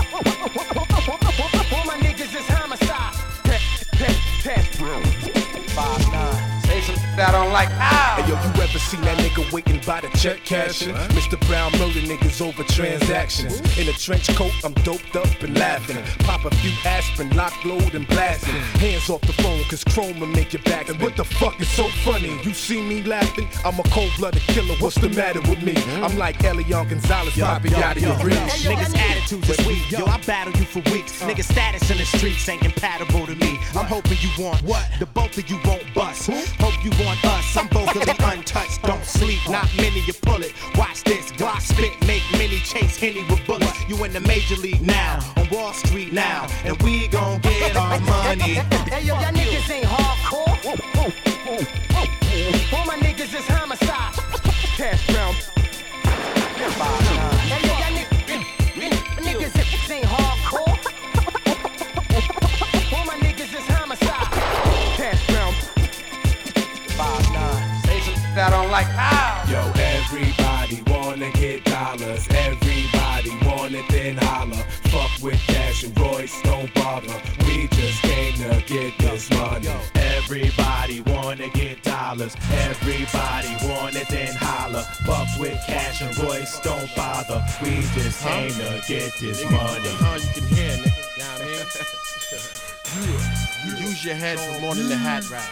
All my niggas is homicide. Pass round. 5'9". Say some shit I don't like. Ow! Hey yo, you ever seen that nigga waiting by the check cashing? Mr. Brown murder niggas over transactions. In a trench coat, I'm doped up and laughing. Pop a few aspirin, lock, load, and blasting. Hands off the phone, cause chrome will make your back. And what the fuck is so funny? You see me laughing? I'm a cold-blooded killer, what's the matter with me? I'm like Elion Gonzalez, popping out of your reach. Niggas' attitudes is weak. Yo, I battle you for weeks. Niggas' status in the streets ain't compatible to me. I'm hoping you want what? The both of you won't bust. Hope you want us. I'm vocally untouched. Don't sleep, not many you pull it. Watch this, Glock spit, make many chase Henny with bullets. You in the major league now, on Wall Street now, and we gon' get our money. Hey yo, y'all niggas ain't hardcore. All my niggas is homicide. Pass round. Hey yo, y'all niggas ain't hardcore. All my niggas is homicide. Pass round. 5'9". Say some shit I don't like. Ow! Yo, everybody wanna get dollars. Everybody want it, then holler. Fuck with Cash and Royce, don't bother. We just came to get this money. Everybody wanna get dollars. Everybody want it, then holler. Fuck with Cash and Royce, don't bother. We just came to get this money. You can hear, nigga. You know what I mean? Use your head for more than the hat rap.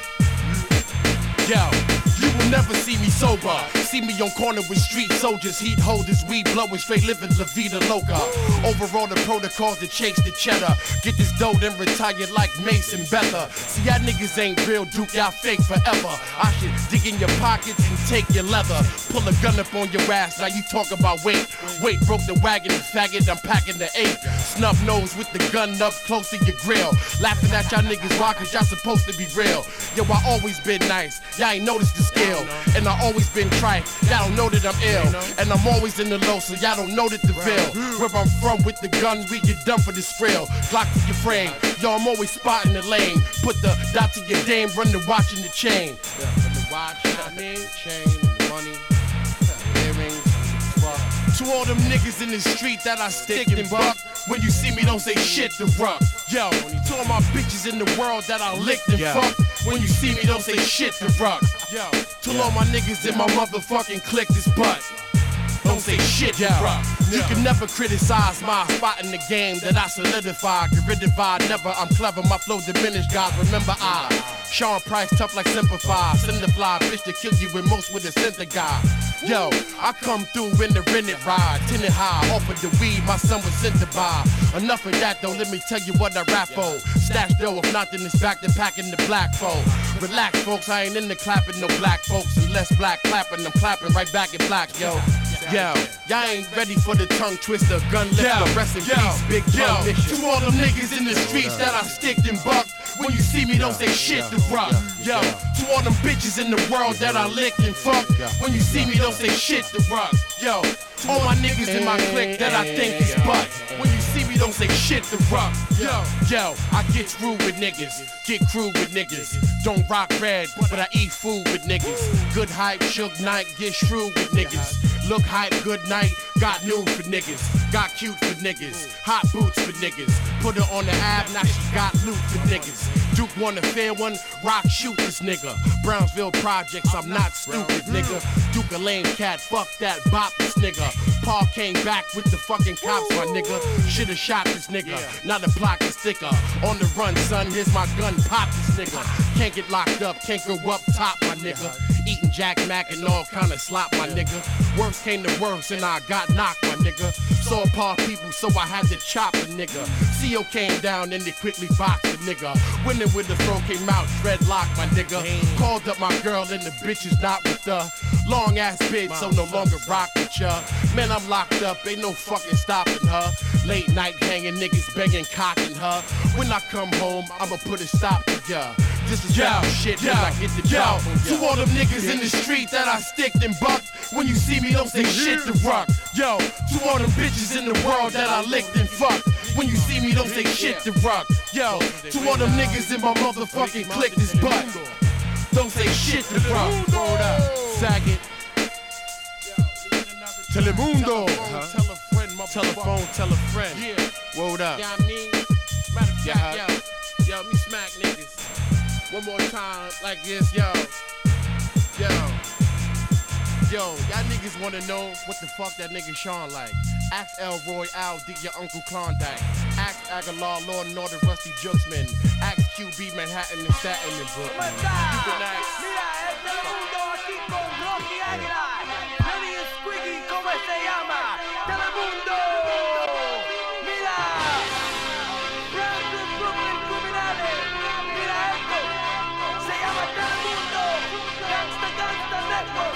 Yo, you will never see me sober. See me on corner with street soldiers, heat holders, weed blowing, straight living La Vida Loca. Over all the protocols to chase the cheddar. Get this dough then retire like Mason Bether. See, y'all niggas ain't real, Duke, y'all fake forever. I should dig in your pockets and take your leather. Pull a gun up on your ass, now you talk about weight. Weight broke the wagon, faggot, I'm packing the 8. Snub nose with the gun up close to your grill. Laughing at y'all niggas, why? Cause y'all supposed to be real. Yo, I always been nice. Y'all ain't noticed the skill, and I always been trite. Y'all don't know that I'm ill, and I'm always in the low, so y'all don't know that the real. Where I'm from with the gun, we get done for this frill. Glock to your frame, yo, I'm always spotting the lane. Put the dot to your dame, run the watch in the chain. Run the watch, you know what I mean? Chain, money, earrings. To all them niggas in the street that I stick and buck. When you see me, don't say shit to rock. Yo, to all my bitches in the world that I licked and fuck. When you see me, don't say shit to rock. Yo, to all my niggas in my motherfucking click this butt. Don't say shit to rock. You can never criticize my spot in the game that I solidify. Get rid of I never, I'm clever, my flow diminished, guys. Remember I Sean Price, tough like Simplify. Send the fly, bitch to kill you with most with a center guy. Yo, I come through in the rented ride, tinted high, offered the weed my son was sent to buy. Enough of that though, let me tell you what I rap for. Stash dough, if not then it's back to packing the black folk. Relax folks, I ain't into clapping no black folks. Unless black clapping, I'm clapping right back in black, yo. Yo, y'all ain't ready for the tongue twister, gun lifter, rest in peace, big tongue nigga. To all them niggas in the streets that I sticked and bucked, when you see me don't say shit to rock. Yo, to all them bitches in the world that I licked and fucked, when you see me don't say shit to rock. Yo, all my niggas in my clique that I think is butt, when you see me don't say shit to rock. Yo, I get through with niggas, get crew with niggas. Don't rock red, but I eat food with niggas. Good hype, shook night, get shrewd with niggas. Look hype, good night, got news for niggas. Got cute for niggas, hot boots for niggas. Put her on the ab, now she got loot for niggas. Duke won a fair one, rock shoot this nigga. Brownsville Projects, I'm not stupid nigga. Duke a lame cat, fuck that, bop this nigga. Paul came back with the fucking cops, my nigga. Shoulda shot this nigga, now the block is thicker. On the run, son, here's my gun, pop this nigga. Can't get locked up, can't go up top, my nigga. Eating Jack Mac and all kind of slop, my nigga. Worst came to worst and I got knocked, my nigga. Saw Paul people, so I had to chop a nigga. CO came down and they quickly boxed the nigga. Winning with the throw came out, dreadlock, my nigga. Called up my girl and the bitch is not with her. Long ass bitch, so no longer rock with ya. Man, I'm locked up, ain't no fucking stopping her. Late night hanging, niggas begging, cocking her. When I come home, I'ma put a stop to ya. This is real shit when I get the job on ya. To all them niggas in the street that I sticked and bucked, when you see me don't say shit to rock. Yo, to all them bitches in the world that I licked and fucked, when you see me don't say shit to rock. Yo, to all them niggas in my motherfucking clique this butt, don't say shit to rock. Hold up, Saget. Telemundo. Tell a friend, telephone, tell a friend. Yeah. Word up. Yeah, I mean, matter of fact, yo, me smack niggas. One more time, like this, yo. Y'all niggas wanna know what the fuck that nigga Sean like. Ask Elroy, Al D, your Uncle Klondike. Ask Aguilar, Lord and Order, Rusty Jooksman. Ask QB, Manhattan and Staten and Brooklyn. You can ask. Mira, el Telemundo aquí con Rocky Aguilar. Lenny y Squiggy, ¿cómo se llama? Telemundo. Mira, Brownsville, Brooklyn, criminales. Mira esto, se llama Telemundo. Gangsta Network.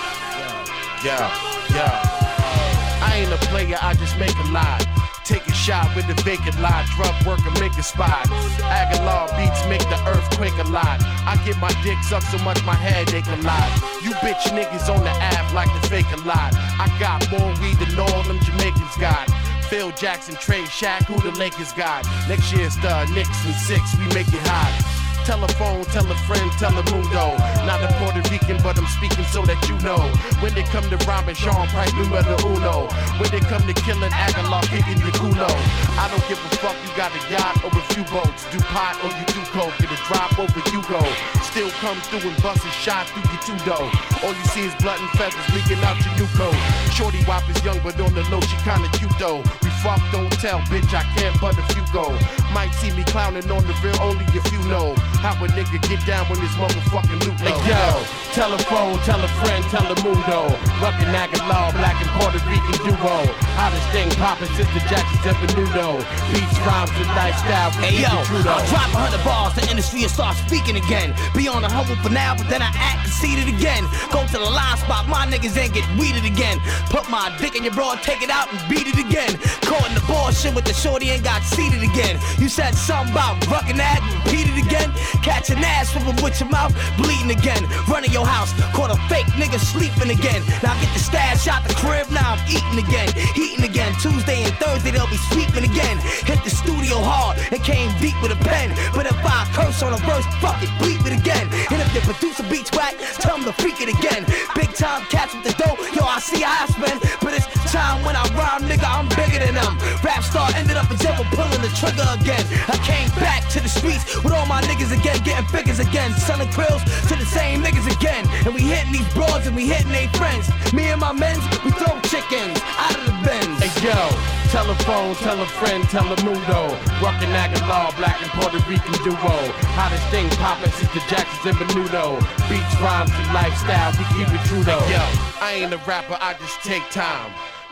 I ain't a player, I just make a lie. Take a shot with a vacant lie. Drug worker, make a spot. Aguilar beats make the earthquake a lot. I get my dick sucked so much my head ache a lot. You bitch niggas on the app like the fake a lot. I got more weed than all them Jamaicans got. Phil Jackson, Trey Shaq, who the Lakers got. Next year's the Knicks and 6, we make it hot. Telephone, tell a friend, Telemundo. Not a Puerto Rican, but I'm speaking so that you know. When they come to rhyming, Sean Price, numero uno. When they come to killing Aguilar, kicking your culo. I don't give a fuck, you got a yacht or a few boats. Do pot or you do coke, get a drop over you go. Still come through and bust a shot through your two-dough. All you see is blood and feathers leaking out your new coat. Shorty Wop is young, but on the low, she kinda cute though. We fuck, don't tell, bitch, I can't but if you go. Might see me clowning on the real, only if you know how a nigga get down when this motherfucking loot low. Hey, yo, telephone, tell a friend, Telemundo. Ruckin' Aguilar, black and Puerto Rican duo. Hottest thing poppin' since the Jacksons ever knew though. Beats, rhymes, and lifestyle. Hey yo, I'll drop 100 bars, the industry will start speaking again. Be on the humble for now, but then I act conceited again. Go to the line spot, my niggas ain't get weeded again. Put my dick in your bra, take it out and beat it again. Caught in the bullshit with the shorty and got seated again. You said something about ruckin' that and repeat it again. Catch an ass swivel with your mouth, bleeding again. Running your house, caught a fake nigga sleeping again. Now get the stash out the crib, now I'm eating again. Heating again, Tuesday and Thursday they'll be sweeping again. Hit the studio hard and came deep with a pen. But if I curse on a verse, fuck it, bleep it again. And if the producer beats whack, tell him to freak it again. Big time cats with the dough, yo I see I spend. But it's time when I rhyme, nigga, I'm bigger than them. Rap star ended up in jail for pulling the trigger again. I came back to the streets with all my niggas again, getting figures again, selling krills to the same niggas again. And we hitting these broads and we hitting they friends. Me and my men's, we throw chickens out of the bins. Hey yo, telephone, tell a friend, Telemundo. Ruckin' Aguilar, black and Puerto Rican duo. Hottest thing poppin' since the Jacksons and Menudo. Beats, rhymes, and lifestyle, we keep it true though. Hey yo, I ain't a rapper, I just take time.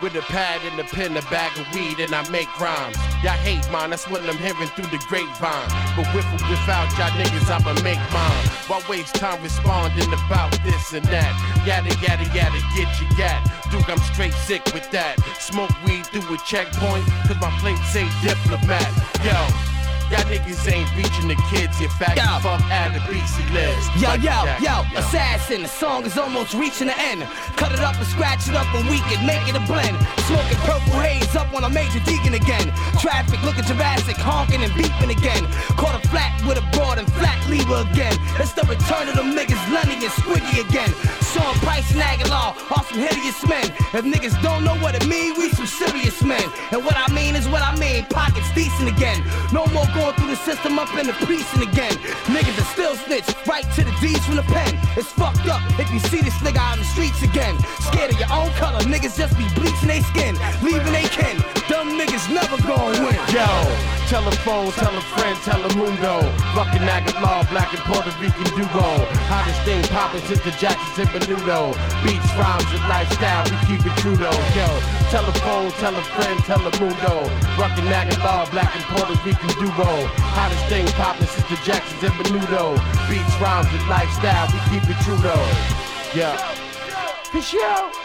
With a pad and a pen, a bag of weed, and I make rhymes. Y'all hate mine, that's what I'm hearing through the grapevine. But with or without y'all niggas, I'ma make mine. Why waste time responding about this and that? Yada, yada, yada, get your gat. Duke, I'm straight sick with that. Smoke weed through a checkpoint, cause my plate say diplomat. Yo. Y'all niggas ain't reaching the kids, you faggot. Fuck out the BC list. Yo, assassin, the song is almost reaching the end. Cut it up and scratch it up and we can make it a blend. Smoking purple haze up on a major deacon again. Traffic looking Jurassic, honking and beeping again. Caught a flat with a broad and flat lever again. It's the return of them niggas, Lenny and Squiggy again. Sean Price and Aguilar are some hideous men. If niggas don't know what it mean, we some serious men. And what I mean is what I mean, pockets decent again. No more going through the system up in the precinct again. Niggas are still snitch, right to the D's from the pen. It's fucked up if you see this nigga out in the streets again. Scared of your own color, niggas just be bleaching they skin, leaving they kin. Dumb niggas never gon' win. Yo, telephone, tell a friend, tell a mundo. Fucking Aguilar, black and Puerto Rican duo. Hottest thing poppin' since the Jacksons and Menudo. Beats, rhymes, and lifestyle, we keep it true though. Yo, telephone, tell a friend, tell a mundo. Fucking Aguilar, black and Puerto Rican duo. Hottest thing poppin' since the Jacksons and Menudo. Beats, rhymes, and lifestyle, we keep it true though. Yeah. Fish out.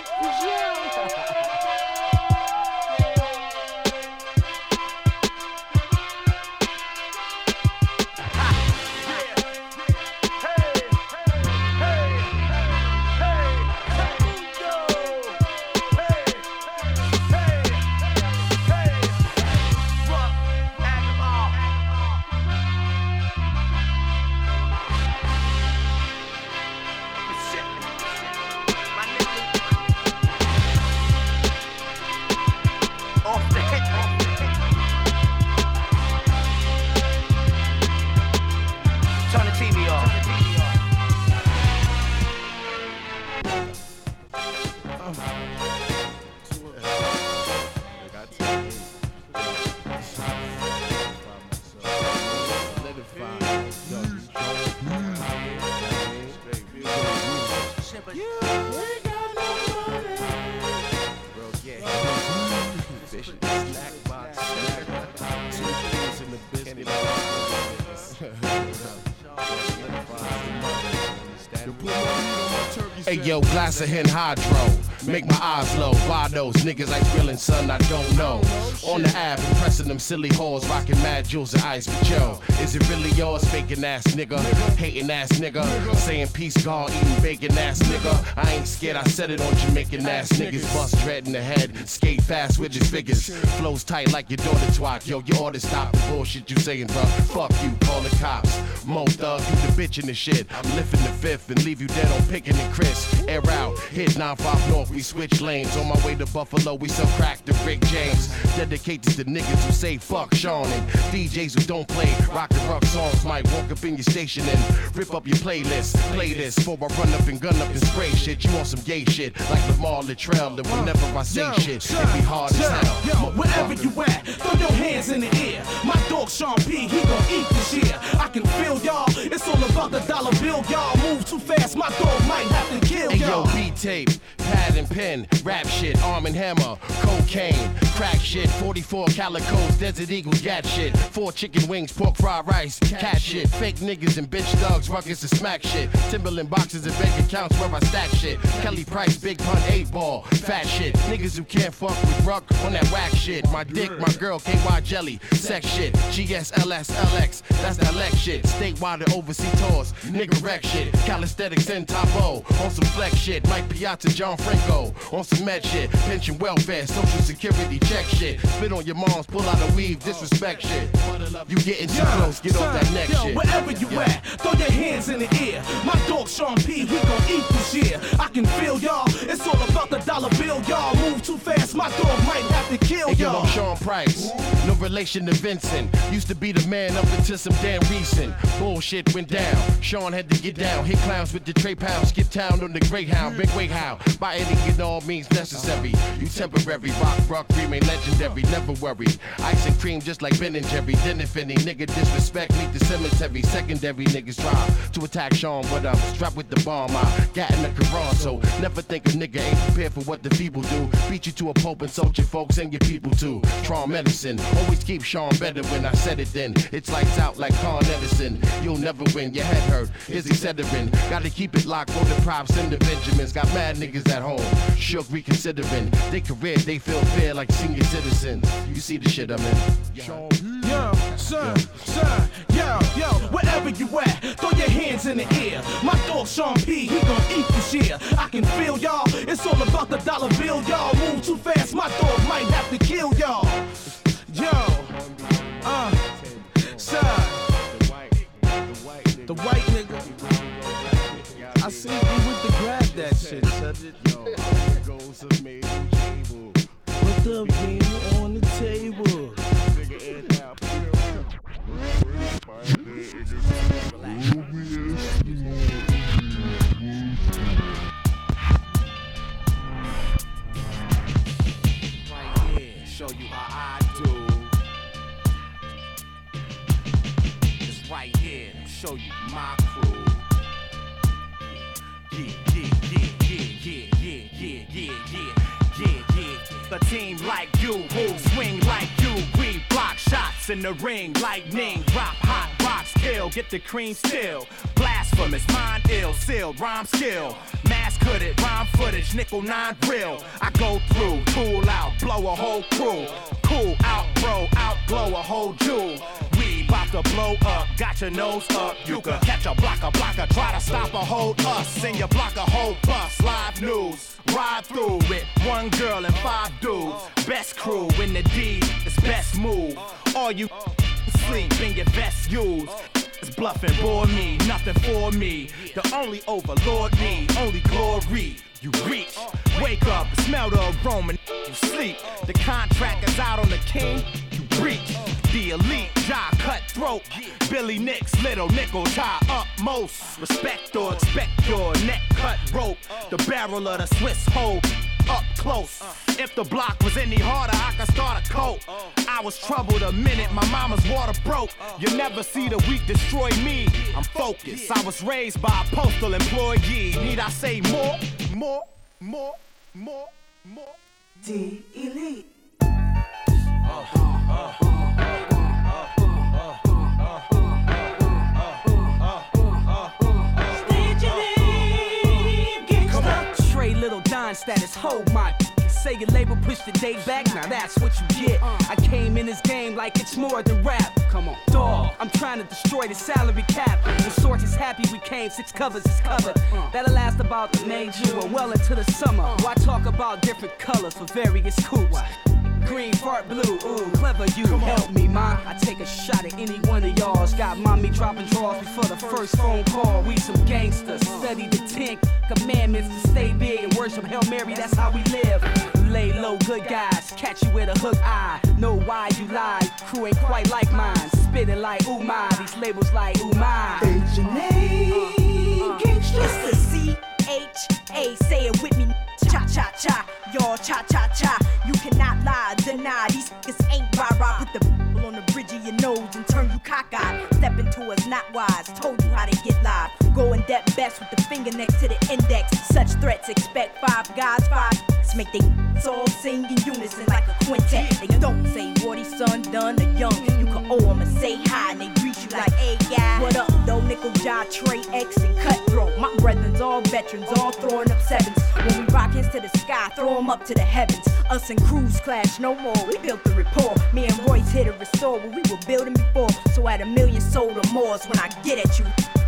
Hey yo, glass of hen hydro, make my eyes low. Why those niggas like grilling, son, I don't know. On the app, impressing them silly hoes, rocking mad jewels and ice. But yo, is it really yours, faking ass nigga? Hating ass nigga, saying peace, God, eating bacon ass nigga. I ain't scared, I said it on Jamaican ass niggas. Bust dread in the head, skate fast with his figures. Flows tight like your daughter twat. Yo, you ought to stop the bullshit you saying, bro. Fuck you, call the cops. Mo thug, you the bitch in the shit. I'm lifting the fifth and leave you dead on picking and Chris. Air out, hit 95 North, we switch lanes. On my way to Buffalo, we sell crack to Rick James. Dedicated to niggas who say fuck Sean and DJs who don't play rock and rock songs. Might walk up in your station and rip up your playlist. Play this before I run up and gun up and spray shit. You want some gay shit like Lamar Latrell. And whenever I say shit, it be hard as hell. Yo, wherever you at, throw your hands in the air. My dog Sean P, he gon' eat this year. I can feel y'all, it's all about the dollar bill. Y'all move too fast, my dog might have to kill y'all. Hey yo, beat tape, pad and pen, rap shit, Arm and Hammer, cocaine, crack shit, 44 calicos, Desert Eagles, gat shit, 4 chicken wings, pork fried rice, cat shit, fake niggas and bitch thugs, ruckus and smack shit, Timberland boxes and bank accounts where I stack shit, Kelly Price, Big Pun, 8-ball, fat shit, niggas who can't fuck with Ruck on that whack shit, my dick, my girl, KY jelly, sex shit, GSLS, LX, that's that Lex shit, statewide and overseas tours, nigga wreck shit, calisthenics and Topo, on some flex shit, Mike Piazza, John Franco, on some med shit, pension welfare, social security check shit, spit on your moms, pull out a weave, disrespect shit, you getting too close, get off that neck shit. Wherever you at, throw your hands in the air. My dog Sean P, he gon' eat this year. I can feel y'all, it's all about the dollar bill. Y'all move too fast, my dog might have to kill y'all. y'all. I'm Sean Price, no relation to Vincent. Used to be the man up until some damn recent bullshit went down. Sean had to get down, hit clowns with the tray pounds, skip town on the Greyhound, big way how. By any and all means necessary. You temporary, rock remain legendary, never worry. Ice and cream just like Ben and Jerry. Then if any nigga disrespect, meet the cemetery. Secondary niggas try to attack Sean, but I'm strapped with the bomb. I got in the Quran, so never think a nigga ain't prepared for what the people do. Beat you to a pulp and sold your folks and your people too. Trauma medicine, always keep Sean better when I said it then. It's lights out like Con Edison. You'll never win, your head hurt. Here's Excedrin. Gotta keep it locked for the props and the Benjamins. Got mad niggas at home, shook reconsidering. They career, they feel fair like senior citizens. You see the shit I'm in. Yo, son, yo, wherever you at, throw your hands in the air. My dog Sean P, he gon' eat this year. I can feel y'all, it's all about the dollar bill, y'all. Move too fast, my dog might have to kill y'all. Yo, son, the white nigga. I see you with the grab that shit, son. Put the bean on the table. Right here, show you how I do. It's right here, show you my crew. The team like you, who swing like you, we block shots in the ring, lightning, drop hot rocks, kill, get the cream still, blasphemous, mind ill, sealed, rhyme skill, mass hooded, rhyme footage, nickel 9 real, I go through, tool out, blow a whole crew, cool out, bro, outglow a whole jewel. About to blow up, got your nose up. You could catch a blocker, try to stop or hold us. And you block a whole bus, live news. Ride through with one girl and 5 dudes. Best crew in the D, it's best move. All you sleep in your best use. It's bluffing, bore me, nothing for me. The only overlord me, only glory. You reach, wake up, smell the aroma, you sleep. The contract is out on the king, you reach. The elite, jaw cutthroat, Billy Nicks, little nickel tie upmost. Respect or expect your neck cut rope. The barrel of the Swiss hole up close. If the block was any harder, I could start a coat. I was troubled a minute, my mama's water broke. You never see the weak destroy me. I'm focused. I was raised by a postal employee. Need I say more? D Elite. Little Don status, hold my say your label push the day back, now that's what you get. I came in this game like it's more than rap. Come on, dog, I'm trying to destroy the salary cap. The source is happy we came, 6 covers is covered. That'll last about the May, June, or well into the summer. Why talk about different colors for various coops? Green, fart, blue, ooh, clever you, help me, ma. I take a shot at any one of y'all's. Got mommy dropping drawers before the first phone call. We some gangsters, study the 10 commandments to stay big and worship Hail Mary, that's how we live. Lay low, good guys, catch you with a hook eye. Know why you lie, crew ain't quite like mine. Spit it like ooh my, these labels like ooh my. H&A, gangsta. It's the C-H-A, say it with me. Cha-cha-cha, y'all cha-cha-cha. You cannot lie, deny, these niggas ain't rah-rah. Put the b***** on the bridge of your nose and turn you cockeyed. Step into us not wise, told you how to get live. Go in depth best with the finger next to the index. Such threats, expect 5 guys, 5 make they all sing in unison like a quintet. They don't say Wardy, son, done, or young. You can owe them and say hi and they greet you like, hey guy, what up, though? Nickel, Jai, Trey, X, and Cutthroat. My brethren's all veterans, all throwing up 7s. When we rock hands to the sky, throw them up to the heavens. Us and crews clash no more, we built the rapport. Me and Royce hit a restore what we were building before. So at 1 million sold or more is when I get at you.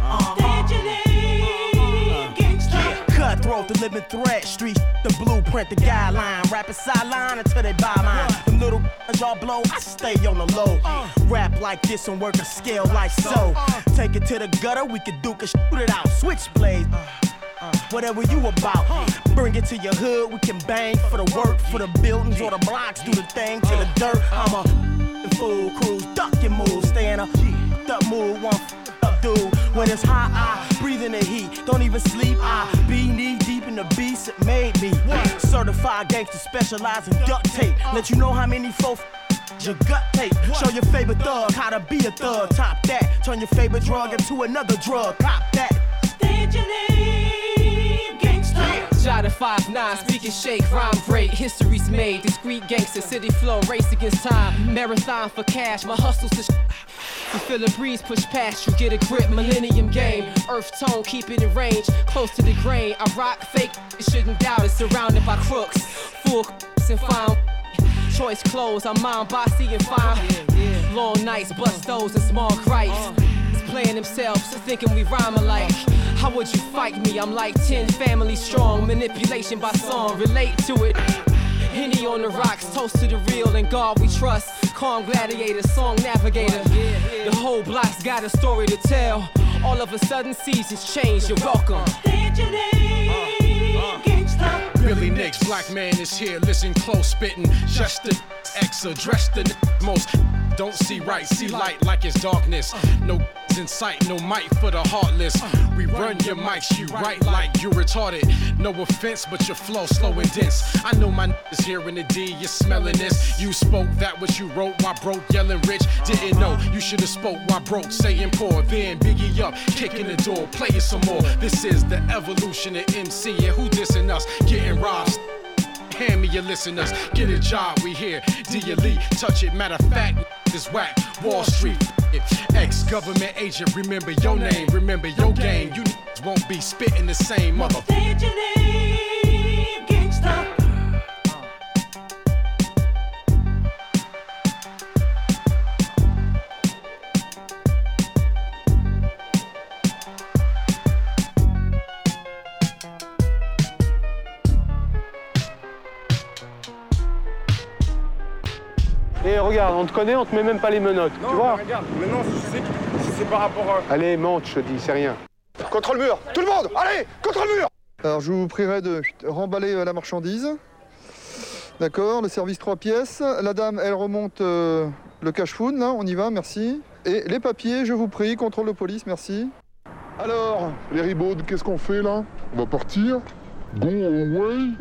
Cutthroat, the living threat, street, the blueprint, the guideline. Rapping sideline until they buy mine. Them little y'all blow, I stay on the low. Rap like this and work a scale like so. Take it to the gutter, we can duke and shoot it out. Switchblade, whatever you about. Bring it to your hood, we can bang for the work, for the buildings or the blocks. Do the thing to the dirt. I'm a smooth cruise, duck your move, stay in a up mood, one up dude. When it's hot, I breathe in the heat, don't even sleep. I be knee deep in the beast, it made me. Certified gangster, specialize in duct tape. Let you know how many folks your gut tape. Show your favorite thug how to be a thug. Top that, turn your favorite drug into another drug. Cop that. State your name, gangsta. Shot at 5'9", speaking shake, rhyme break, history's made. Discreet gangster, city flow, race against time. Marathon for cash, my hustle's to you feel the breeze push past you, get a grip, millennium game. Earth tone, keep it in range, close to the grain. I rock fake, you shouldn't doubt it. Surrounded by crooks, full and fine. Choice clothes, I'm mine, bossy and fine. Long nights, bust those and small gripes. Playing themselves, thinking we rhyme alike. How would you fight me? I'm like 10 family strong. Manipulation by song, relate to it. Henny on the rocks, toast to the real and God we trust. Calm gladiator, song navigator. The whole block's got a story to tell. All of a sudden seasons change, you're welcome. Billy Nicks, black man is here, listen close, spitting. Just the X address the most. Don't see right, see light like it's darkness. No in sight, no mic for the heartless. We run your mics, you write like you retarded. No offense, but your flow slow and dense. I know my is here in the D, you're smelling this. You spoke that what you wrote while broke, yelling rich. Didn't know, you should've spoke while broke, saying poor. Then Biggie up, kicking the door, playing some more. This is the evolution of MC, and who dissing us? Getting robbed. Hand me your listeners, get a job, we here. D-Elite, touch it, matter of fact, this whack. Wall Street, ex-government agent, remember your name, remember your game. You won't be spitting the same mother. State your name, gangsta. Et regarde, on te connaît, on te met même pas les menottes, non, tu vois. Regarde, maintenant si c'est par rapport à... Allez, monte, je te dis, c'est rien. Contre le mur, tout le monde, allez, contre le mur. Alors je vous prierai de remballer la marchandise. D'accord, le service 3 pièces. La dame, elle remonte le cash food, là, on y va, merci. Et les papiers, je vous prie, contrôle de police, merci. Alors, les ribauds, qu'est-ce qu'on fait là? On va partir? Go away?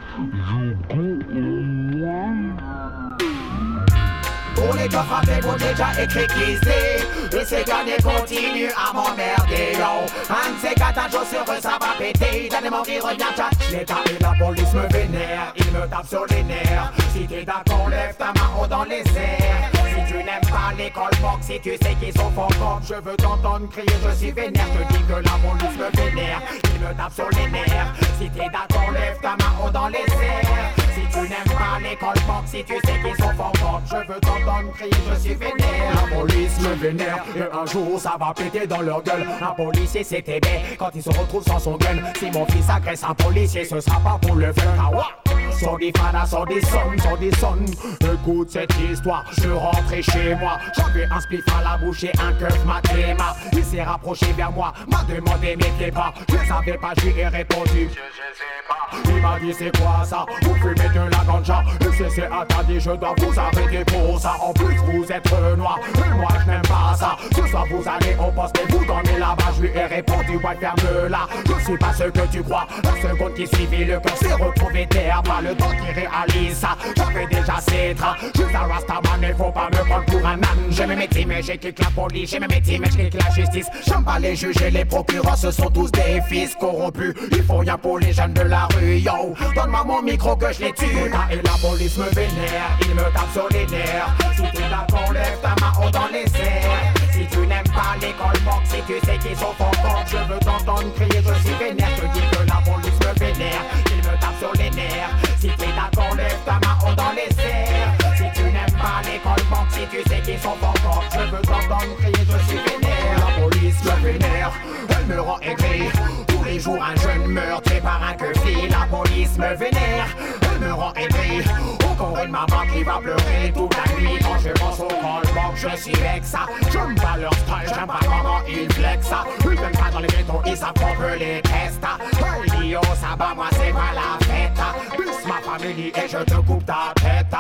Pour les coffres à paix, déjà écrit qu'ici. Et ces derniers continuent à m'emmerder, yo. Un de ces quatre jours sur eux, ça va péter. D'un démon qui revient, chat. L'État et la police me vénèrent, ils me tapent sur les nerfs. Si t'es d'accord, lève ta main haut dans les airs. Si tu n'aimes pas l'école box, si tu sais qu'ils sont fort, je veux t'entendre crier, je suis vénère. Je dis que la police me vénère, ils me tapent sur les nerfs. Si t'es d'accord, lève ta main haut dans les airs. Si tu n'aimes pas l'école box, si tu sais qu'ils sont fort, je veux t'entendre crier, je suis vénère. La police me vénère, et un jour ça va péter dans leur gueule. Un policier c'est aimé quand il se retrouve sans son gun. Si mon fils agresse un policier, ce sera pas pour le faire. Ah ouais. Sur des fadas, sur des sons. Écoute cette histoire, je rentrais chez moi. J'avais un spliff à la bouche et un keuf mathéma. Il s'est rapproché vers moi, m'a demandé mes pieds pas. Je savais pas, je lui ai répondu. Il m'a dit c'est quoi ça? Vous fumez de la ganja. Le CC interdit, je dois vous arrêter pour ça. En plus vous êtes noir, et moi je n'aime pas ça. Ce soir vous allez au poste et vous dormez là-bas. Je lui ai répondu, ouais ferme là. Je suis pas ce que tu crois. La seconde qui suivit, le cœur s'est retrouvé terre. Pas le temps qui réalise ça. J'avais déjà ces draps. Juste un rastaman, il faut pas me prendre pour un âne. J'ai mes métiers mais j'ai kick la police. J'ai mes métiers mais j'ai kick la justice. J'aime pas les juges et les procureurs, ce sont tous des fils corrompus. Ils font rien pour les jeunes de la rue, yo. Donne-moi mon micro que je les tue. Et la police me vénère, ils me tapent sur les nerfs. Si t'es d'accord, lève ta main haut dans les airs. Si tu n'aimes pas l'école box, si tu sais qu'ils sont forts, je veux t'entendre crier, je suis vénère. Je dis que la police me vénère, ils me tapent sur les nerfs. Si t'es d'accord, lève ta main haut dans les airs. Si tu n'aimes pas l'école box, si tu sais qu'ils sont forts, je veux t'entendre crier, je suis vénère. La police me vénère, elle me rend aigri. Tous les jours un jeune meurt tué par un queufil. La police me vénère, elle me rend aigri. Encore une maman qui va pleurer toute la nuit. Quand je pense au callback, je suis vexa. J'aime pas leur style, j'aime pas comment ils flexent ça. Ils viennent pas dans les ghettos, ils savent qu'on peut les tester. Hey Lio, ça bat, moi c'est pas la fête. Plus ma famille et je te coupe ta tête. Je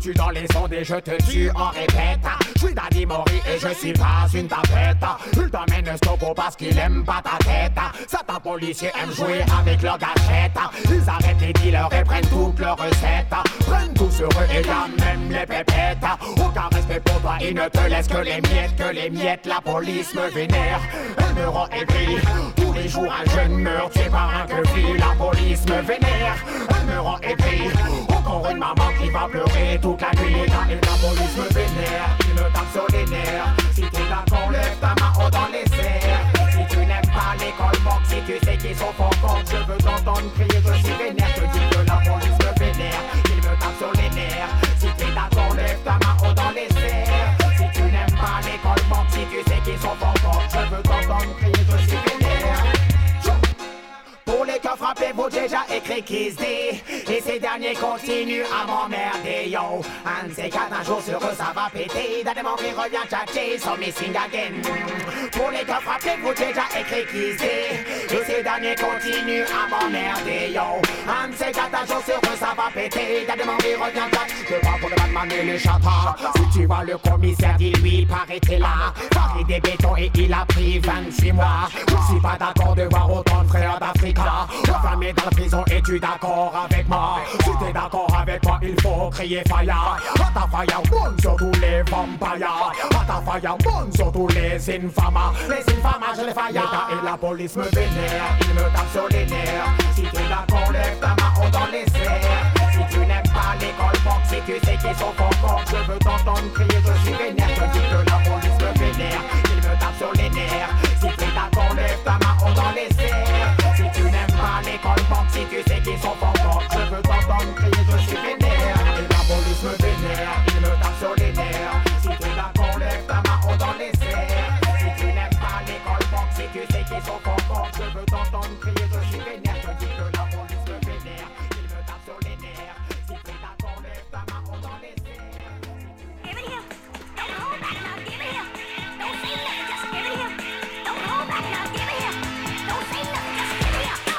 tue dans les ondes et je te tue en répète. Je suis Danny Mori et je suis pas une tapette. Il t'emmène Stopo parce qu'il aime pas ta tête. Certains policiers aiment jouer avec leurs gâchettes. Ils arrêtent les dealers et prennent toutes leurs recettes. Prennent tout sur eux et y'a même les pépettes. Aucun respect pour toi, ils ne te laissent que les miettes, la police me vénère. Elle me rend aigri. Tous les jours un jeune meurt tué par un queue-fille. La police me vénère. Elle me rend aigri. Encore une maman qui va pleurer toute la nuit. Et la police me vénère. Il me tape sur les nerfs. Si t'es d'accord, lève ta main haut dans les airs. Si tu n'aimes pas l'école boxe, si tu sais qu'ils sont fort, je veux t'entendre crier, je suis vénère. Je dis que la police me vénère. Il me tape sur les nerfs. Si t'es d'accord, lève ta main haut dans les airs. Si tu n'aimes pas l'école boxe, si tu sais qu'ils sont fort, je veux t'entendre crier, je suis vénère. Pour les cas frappés, vous déjà écrit Kiss D. Et ces derniers continuent à m'emmerder, yo. Un de ces quatre, un jour sur eux, ça va péter. D'un démon qui revient tchatcher, so missing again. Pour les cas frappés, vous déjà écrit Kiss D. Et ces derniers continuent à m'emmerder, yo. Un de ces quatre, un jour sur eux, ça va péter. D'un démon qui revient tchatcher. C'est pas pour le Batman et les chatas. Si tu vois le commissaire, dis-lui, paraît-il là. Paris des bétons et il a pris 26 mois. Je suis pas d'accord de voir autant de frères d'Afrique. Enfermé dans la prison, es-tu d'accord avec moi? Si t'es d'accord avec moi, il faut crier fire. Ata fire one sur tous les vampires. Ata fire one sur tous les infamas. Les infamas, je les fire. L'État et la police me vénèrent. Ils me tapent sur les nerfs. Si t'es d'accord, lève ta main haut dans les airs. Si tu n'aimes pas l'école boxe, si tu sais qu'ils sont forts, je veux t'entendre crier, je suis vénère. Je dis que la police me vénère. Ils me tapent sur les nerfs. Si t'es d'accord, lève ta main haut dans les airs. Si tu n'aimes pas l'école boxe, si tu sais qu'ils sont forts, je veux t'entendre crier, je suis vénère. Et la police me vénère, il me tape sur les nerfs. Si t'es d'accord, lève ta main haut dans les airs. Si tu n'aimes pas l'école boxe, si tu sais qu'ils sont forts, je veux t'entendre crier, je suis vénère. Je dis que la police me vénère, il me tape sur les nerfs. Si t'es d'accord, lève ta main haut dans les airs. Give it here, don't hold back now, give it here. Don't say nothing, just give it here. Don't hold back now, give it here. Don't say nothing, just give it here. Go!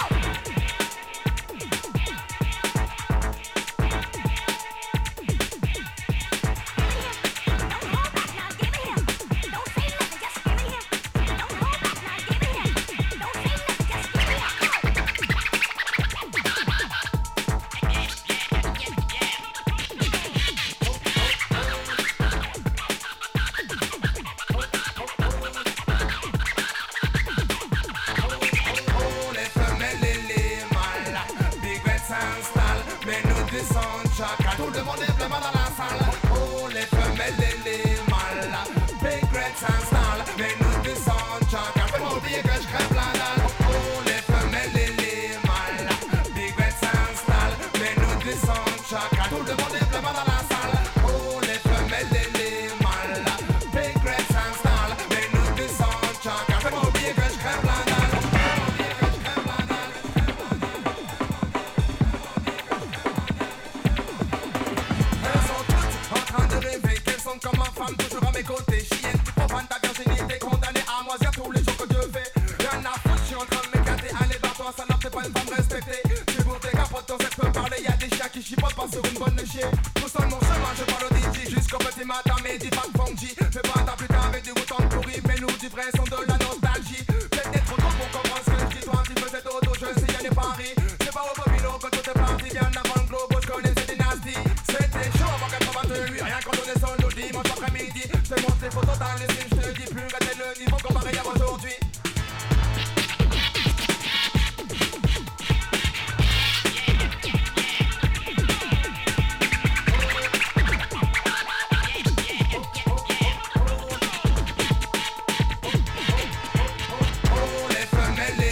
Tout le monde est vraiment dans la salle. Oh, les femelles et les mâles. Big Red s'installe, mais nous descendons chacun. Fais-moi oublier que je crève la dalle. Oh, les femelles et les mâles. Big Red s'installe, mais nous descendons chacun. Tout le monde est vraiment dans la salle. Oh, les femelles et les mâles. Big Red s'installe, mais nous descendons chacun. Fais-moi oublier que je crève la dalle. Comme ma femme toujours à mes côtés. Chienne, tu profanes ta virginité, condamnée à moisir tous les jours que Dieu fait. Rien à foutre, je suis en train de m'éclater. Allez, barre-toi, salope, t'es pas une femme respectée. Tu bourres tes capotes, ton sexe peut parler. Y'a des chiens qui chipotent pas sur une bonne chier. Tout seul mon chemin, je parle au DJ. Jusqu'au petit matin, mais dis pas de funky. Fais pas ta putain avec du bouton pourri. Mais nous, du vrai son de la nostalgie. Peut-être d'être trop tôt pour comprendre ce que je dis. Toi, tu faisais dodo, je sais, y'a des paris. C'est pas au Bobino quand tout est parti. Bien avant le globe, je connais ces dynasties. C'était chaud avant 88, rien quand on est seul le dimanche après-midi. Je te montre les photos dans les films, je te dis plus, regardez le niveau comparé à aujourd'hui. Oh, les femelles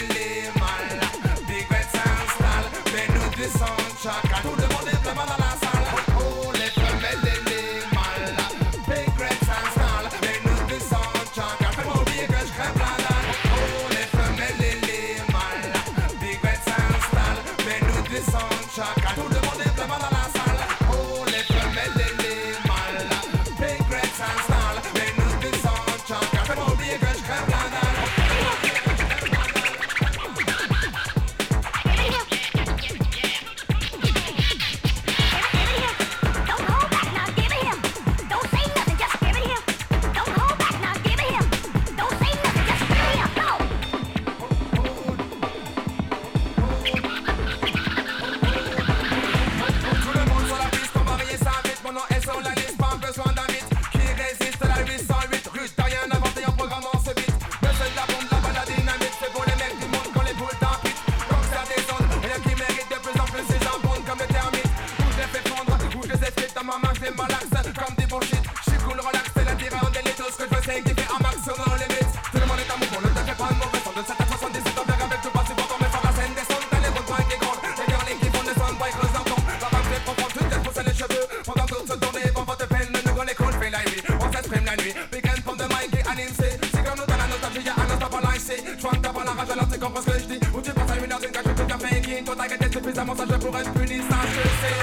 c'est ton bien avec tout pas si bon, mais sur la scène des sons, t'as les bons points qui grondent. Les girls qui font des sons, boy, creuse leur ton. La vague fait profond, tu te pousses les cheveux. Pendant toute cette journée, bon, votre peine, nous gros les coups, fait la nuit. On s'exprime la nuit. Big end from the mic et anime, c'est comme nous dans la nostalgie, y'a un instant pour lancer. J'vois que t'as pas la rage, alors tu comprends ce que je dis. Ou tu passes à une heure d'une cage, tout à fait qui. Toi t'as gagné suffisamment, ça je pourrais être puni, ça je sais.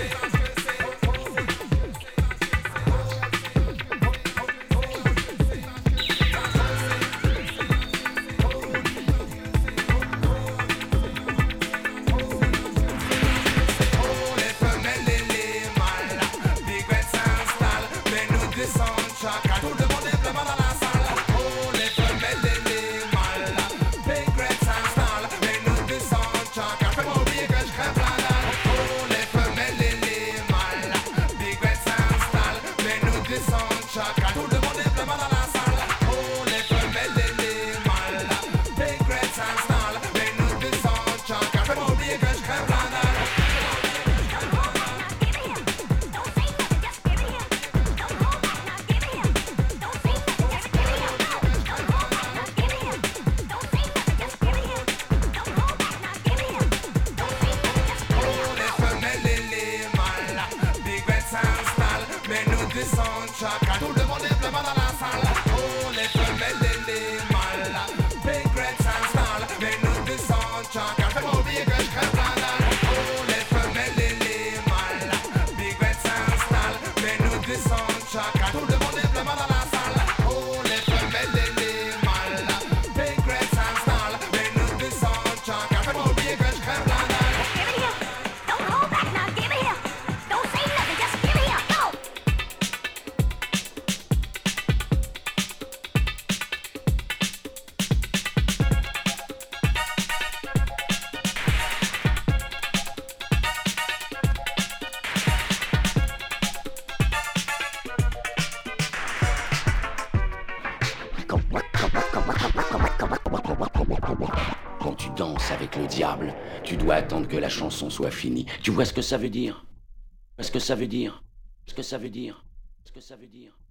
Quand tu danses avec le diable, tu dois attendre que la chanson soit finie. Tu vois ce que ça veut dire? Ce que ça veut dire? Ce que ça veut dire? Ce que ça veut dire?